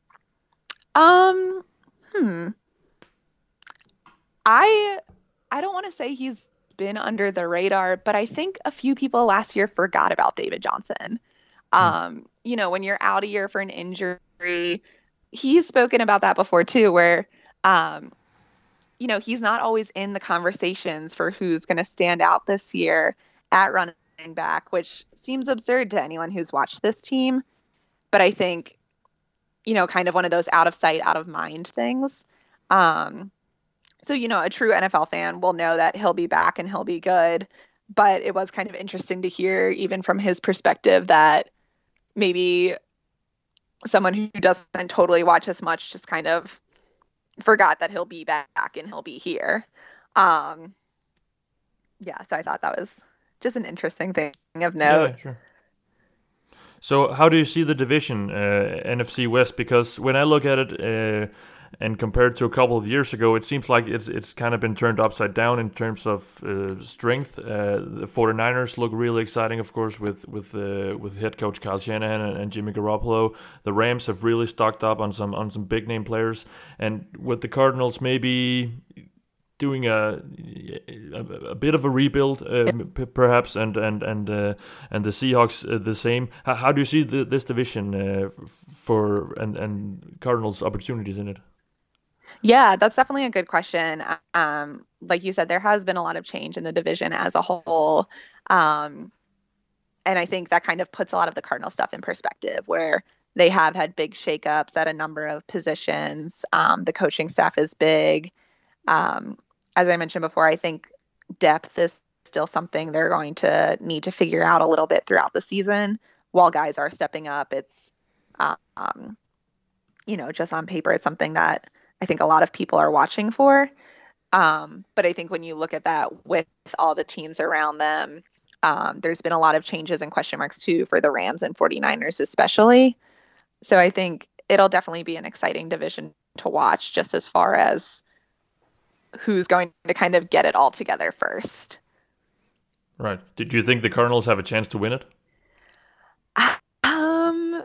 Um, hmm. I I don't want to say he's been under the radar, but I think a few people last year forgot about David Johnson. Um, you know, when you're out a year for an injury, he's spoken about that before too, where, um, you know, he's not always in the conversations for who's going to stand out this year at running back, which seems absurd to anyone who's watched this team. But I think, you know, kind of one of those out of sight, out of mind things. Um, so, you know, a true N F L fan will know that he'll be back and he'll be good. But it was kind of interesting to hear, even from his perspective, that maybe someone who doesn't totally watch as much just kind of forgot that he'll be back and he'll be here. Um, yeah, so I thought that was just an interesting thing of note. Yeah, sure. So how do you see the division, uh, N F C West? Because when I look at it uh, and compared to a couple of years ago, it seems like it's it's kind of been turned upside down in terms of uh, strength. Uh, the 49ers look really exciting, of course, with with uh, with head coach Kyle Shanahan and, and Jimmy Garoppolo. The Rams have really stocked up on some on some big name players, and with the Cardinals maybe doing a, a a bit of a rebuild, uh, p- perhaps, and and and uh, and the Seahawks uh, the same. How, how do you see the, this division uh, for and and Cardinals' opportunities in it? Yeah, that's definitely a good question. Um, like you said, there has been a lot of change in the division as a whole. Um, and I think that kind of puts a lot of the Cardinal stuff in perspective, where they have had big shakeups at a number of positions. Um, the coaching staff is big. Um, as I mentioned before, I think depth is still something they're going to need to figure out a little bit throughout the season. While guys are stepping up, it's, um, you know, just on paper, it's something that I think a lot of people are watching for. Um, but I think when you look at that with all the teams around them, um, there's been a lot of changes and question marks too for the Rams and 49ers especially. So I think it'll definitely be an exciting division to watch, just as far as who's going to kind of get it all together first. Right. Did you think the Cardinals have a chance to win it? Um,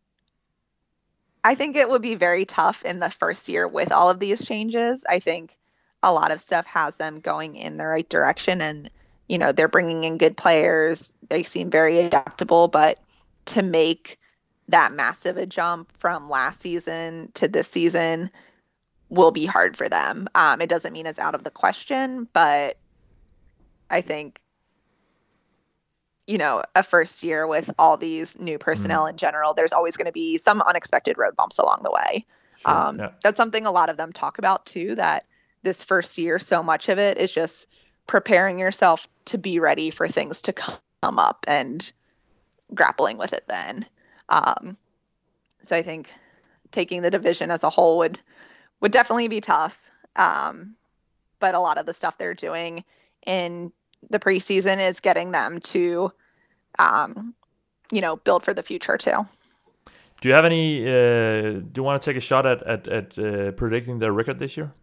I think it would be very tough in the first year with all of these changes. I think a lot of stuff has them going in the right direction, and, you know, they're bringing in good players. They seem very adaptable, but to make that massive a jump from last season to this season will be hard for them. Um, it doesn't mean it's out of the question, but I think, you know, a first year with all these new personnel mm. in general, there's always going to be some unexpected road bumps along the way. Sure, um, yeah. That's something a lot of them talk about too, that this first year, so much of it is just preparing yourself to be ready for things to come up and grappling with it then. Um, so I think taking the division as a whole would, would definitely be tough. Um, but a lot of the stuff they're doing in the preseason is getting them to, um, you know, build for the future too. Do you have any, uh, do you want to take a shot at, at, at uh, predicting their record this year?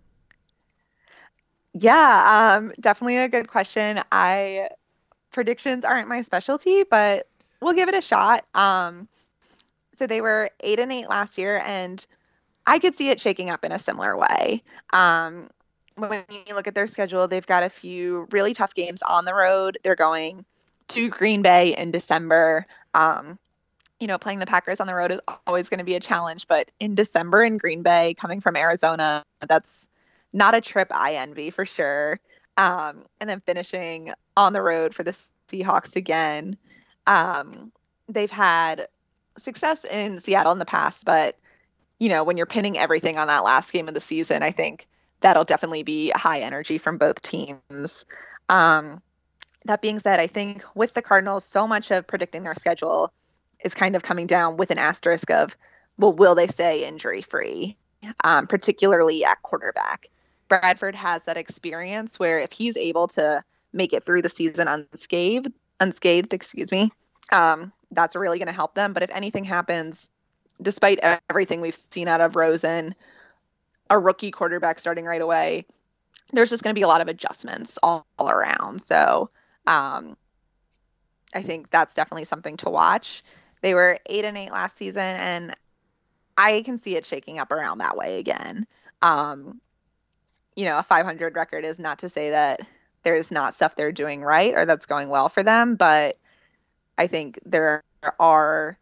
Yeah, um, definitely a good question. I, predictions aren't my specialty, but we'll give it a shot. Um, so they were eight and eight last year, and I could see it shaking up in a similar way. Um, when you look at their schedule, they've got a few really tough games on the road. They're going to Green Bay in December. Um, you know, playing the Packers on the road is always going to be a challenge, but in December in Green Bay, coming from Arizona, that's not a trip I envy for sure. Um, and then finishing on the road for the Seahawks again. Um, they've had success in Seattle in the past, but, you know, when you're pinning everything on that last game of the season, I think that'll definitely be high energy from both teams. Um, that being said, I think with the Cardinals, so much of predicting their schedule is kind of coming down with an asterisk of, well, will they stay injury free, um, particularly at quarterback? Bradford has that experience where if he's able to make it through the season unscathed, unscathed, excuse me, um, that's really going to help them. But if anything happens, despite everything we've seen out of Rosen, a rookie quarterback starting right away, there's just going to be a lot of adjustments all, all around. So um, I think that's definitely something to watch. They were eight and eight last season, and I can see it shaking up around that way again. Um, you know, a five hundred record is not to say that there's not stuff they're doing right or that's going well for them, but I think there are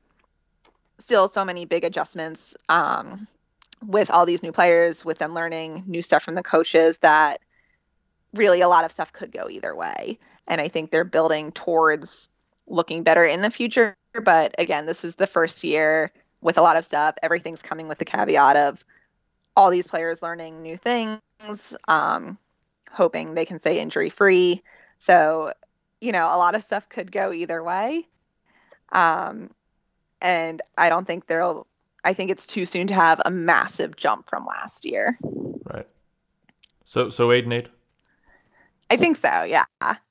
still so many big adjustments um, with all these new players, with them learning new stuff from the coaches, that really a lot of stuff could go either way. And I think they're building towards looking better in the future. But again, this is the first year with a lot of stuff. Everything's coming with the caveat of all these players learning new things, um, hoping they can stay injury free. So, you know, a lot of stuff could go either way. Um, and I don't think there'll, I think it's too soon to have a massive jump from last year. Right. So, so eight and eight? I think so, yeah.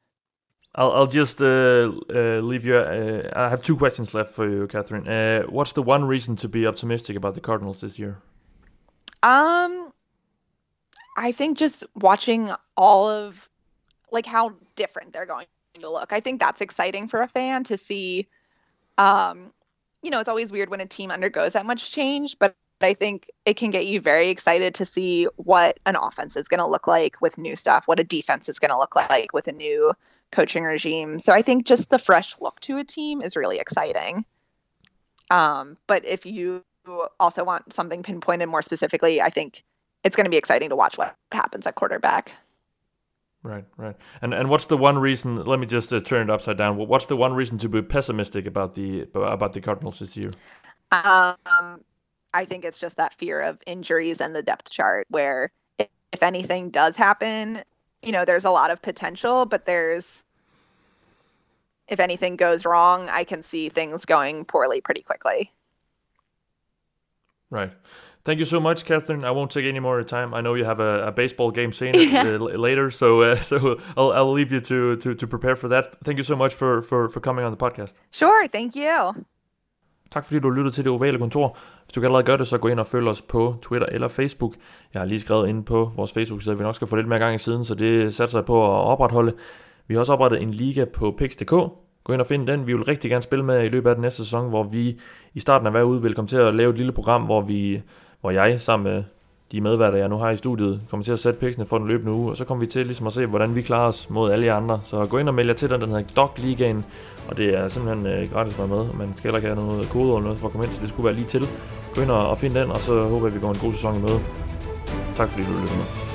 I'll, I'll just uh, uh, leave you. Uh, I have two questions left for you, Catherine. Uh, what's the one reason to be optimistic about the Cardinals this year? Um, I think just watching all of, like, how different they're going to look. I think that's exciting for a fan to see. Um, you know, it's always weird when a team undergoes that much change, but I think it can get you very excited to see what an offense is going to look like with new stuff, what a defense is going to look like with a new coaching regime. So I think just the fresh look to a team is really exciting. Um, but if you also want something pinpointed more specifically, I think it's going to be exciting to watch what happens at quarterback. Right, right. And and what's the one reason? Let me just uh, turn it upside down. What's the one reason to be pessimistic about the about the Cardinals this year? Um, I think it's just that fear of injuries and the depth chart, where if, if anything does happen, you know, there's a lot of potential, but there's if anything goes wrong, I can see things going poorly pretty quickly. Right. Thank you so much, Catherine. I won't take any more time. I know you have a, a baseball game scene yeah. uh, later, so uh, so I'll I'll leave you to, to, to prepare for that. Thank you so much for, for, for coming on the podcast. Sure, thank you. Tak fordi du lyttede til Det Ovale Kontor. Hvis du kan allerede gøre det, så gå ind og følg os på Twitter eller Facebook. Jeg har lige skrevet inde på vores Facebook-side, at vi nok skal få lidt mere gang i siden, så det satser jeg på at opretholde. Vi har også oprettet en liga på pix punktum d k. Gå ind og find den. Vi vil rigtig gerne spille med i løbet af den næste sæson, hvor vi i starten af hver uge vil komme til at lave et lille program, hvor vi, hvor jeg sammen med de medværter, jeg nu har i studiet, kommer til at sætte piksene for den løbende uge, og så kommer vi til ligesom at se, hvordan vi klarer os mod alle jer andre. Så gå ind og meld jer til den, den hedder Dog Ligaen, og det er simpelthen øh, gratis at være med. Man skal heller ikke have noget kode eller noget for at komme ind, så det skulle være lige til. Gå ind og, og find den, og så håber jeg, vi går en god sæson i møde. Tak fordi du lyttede med.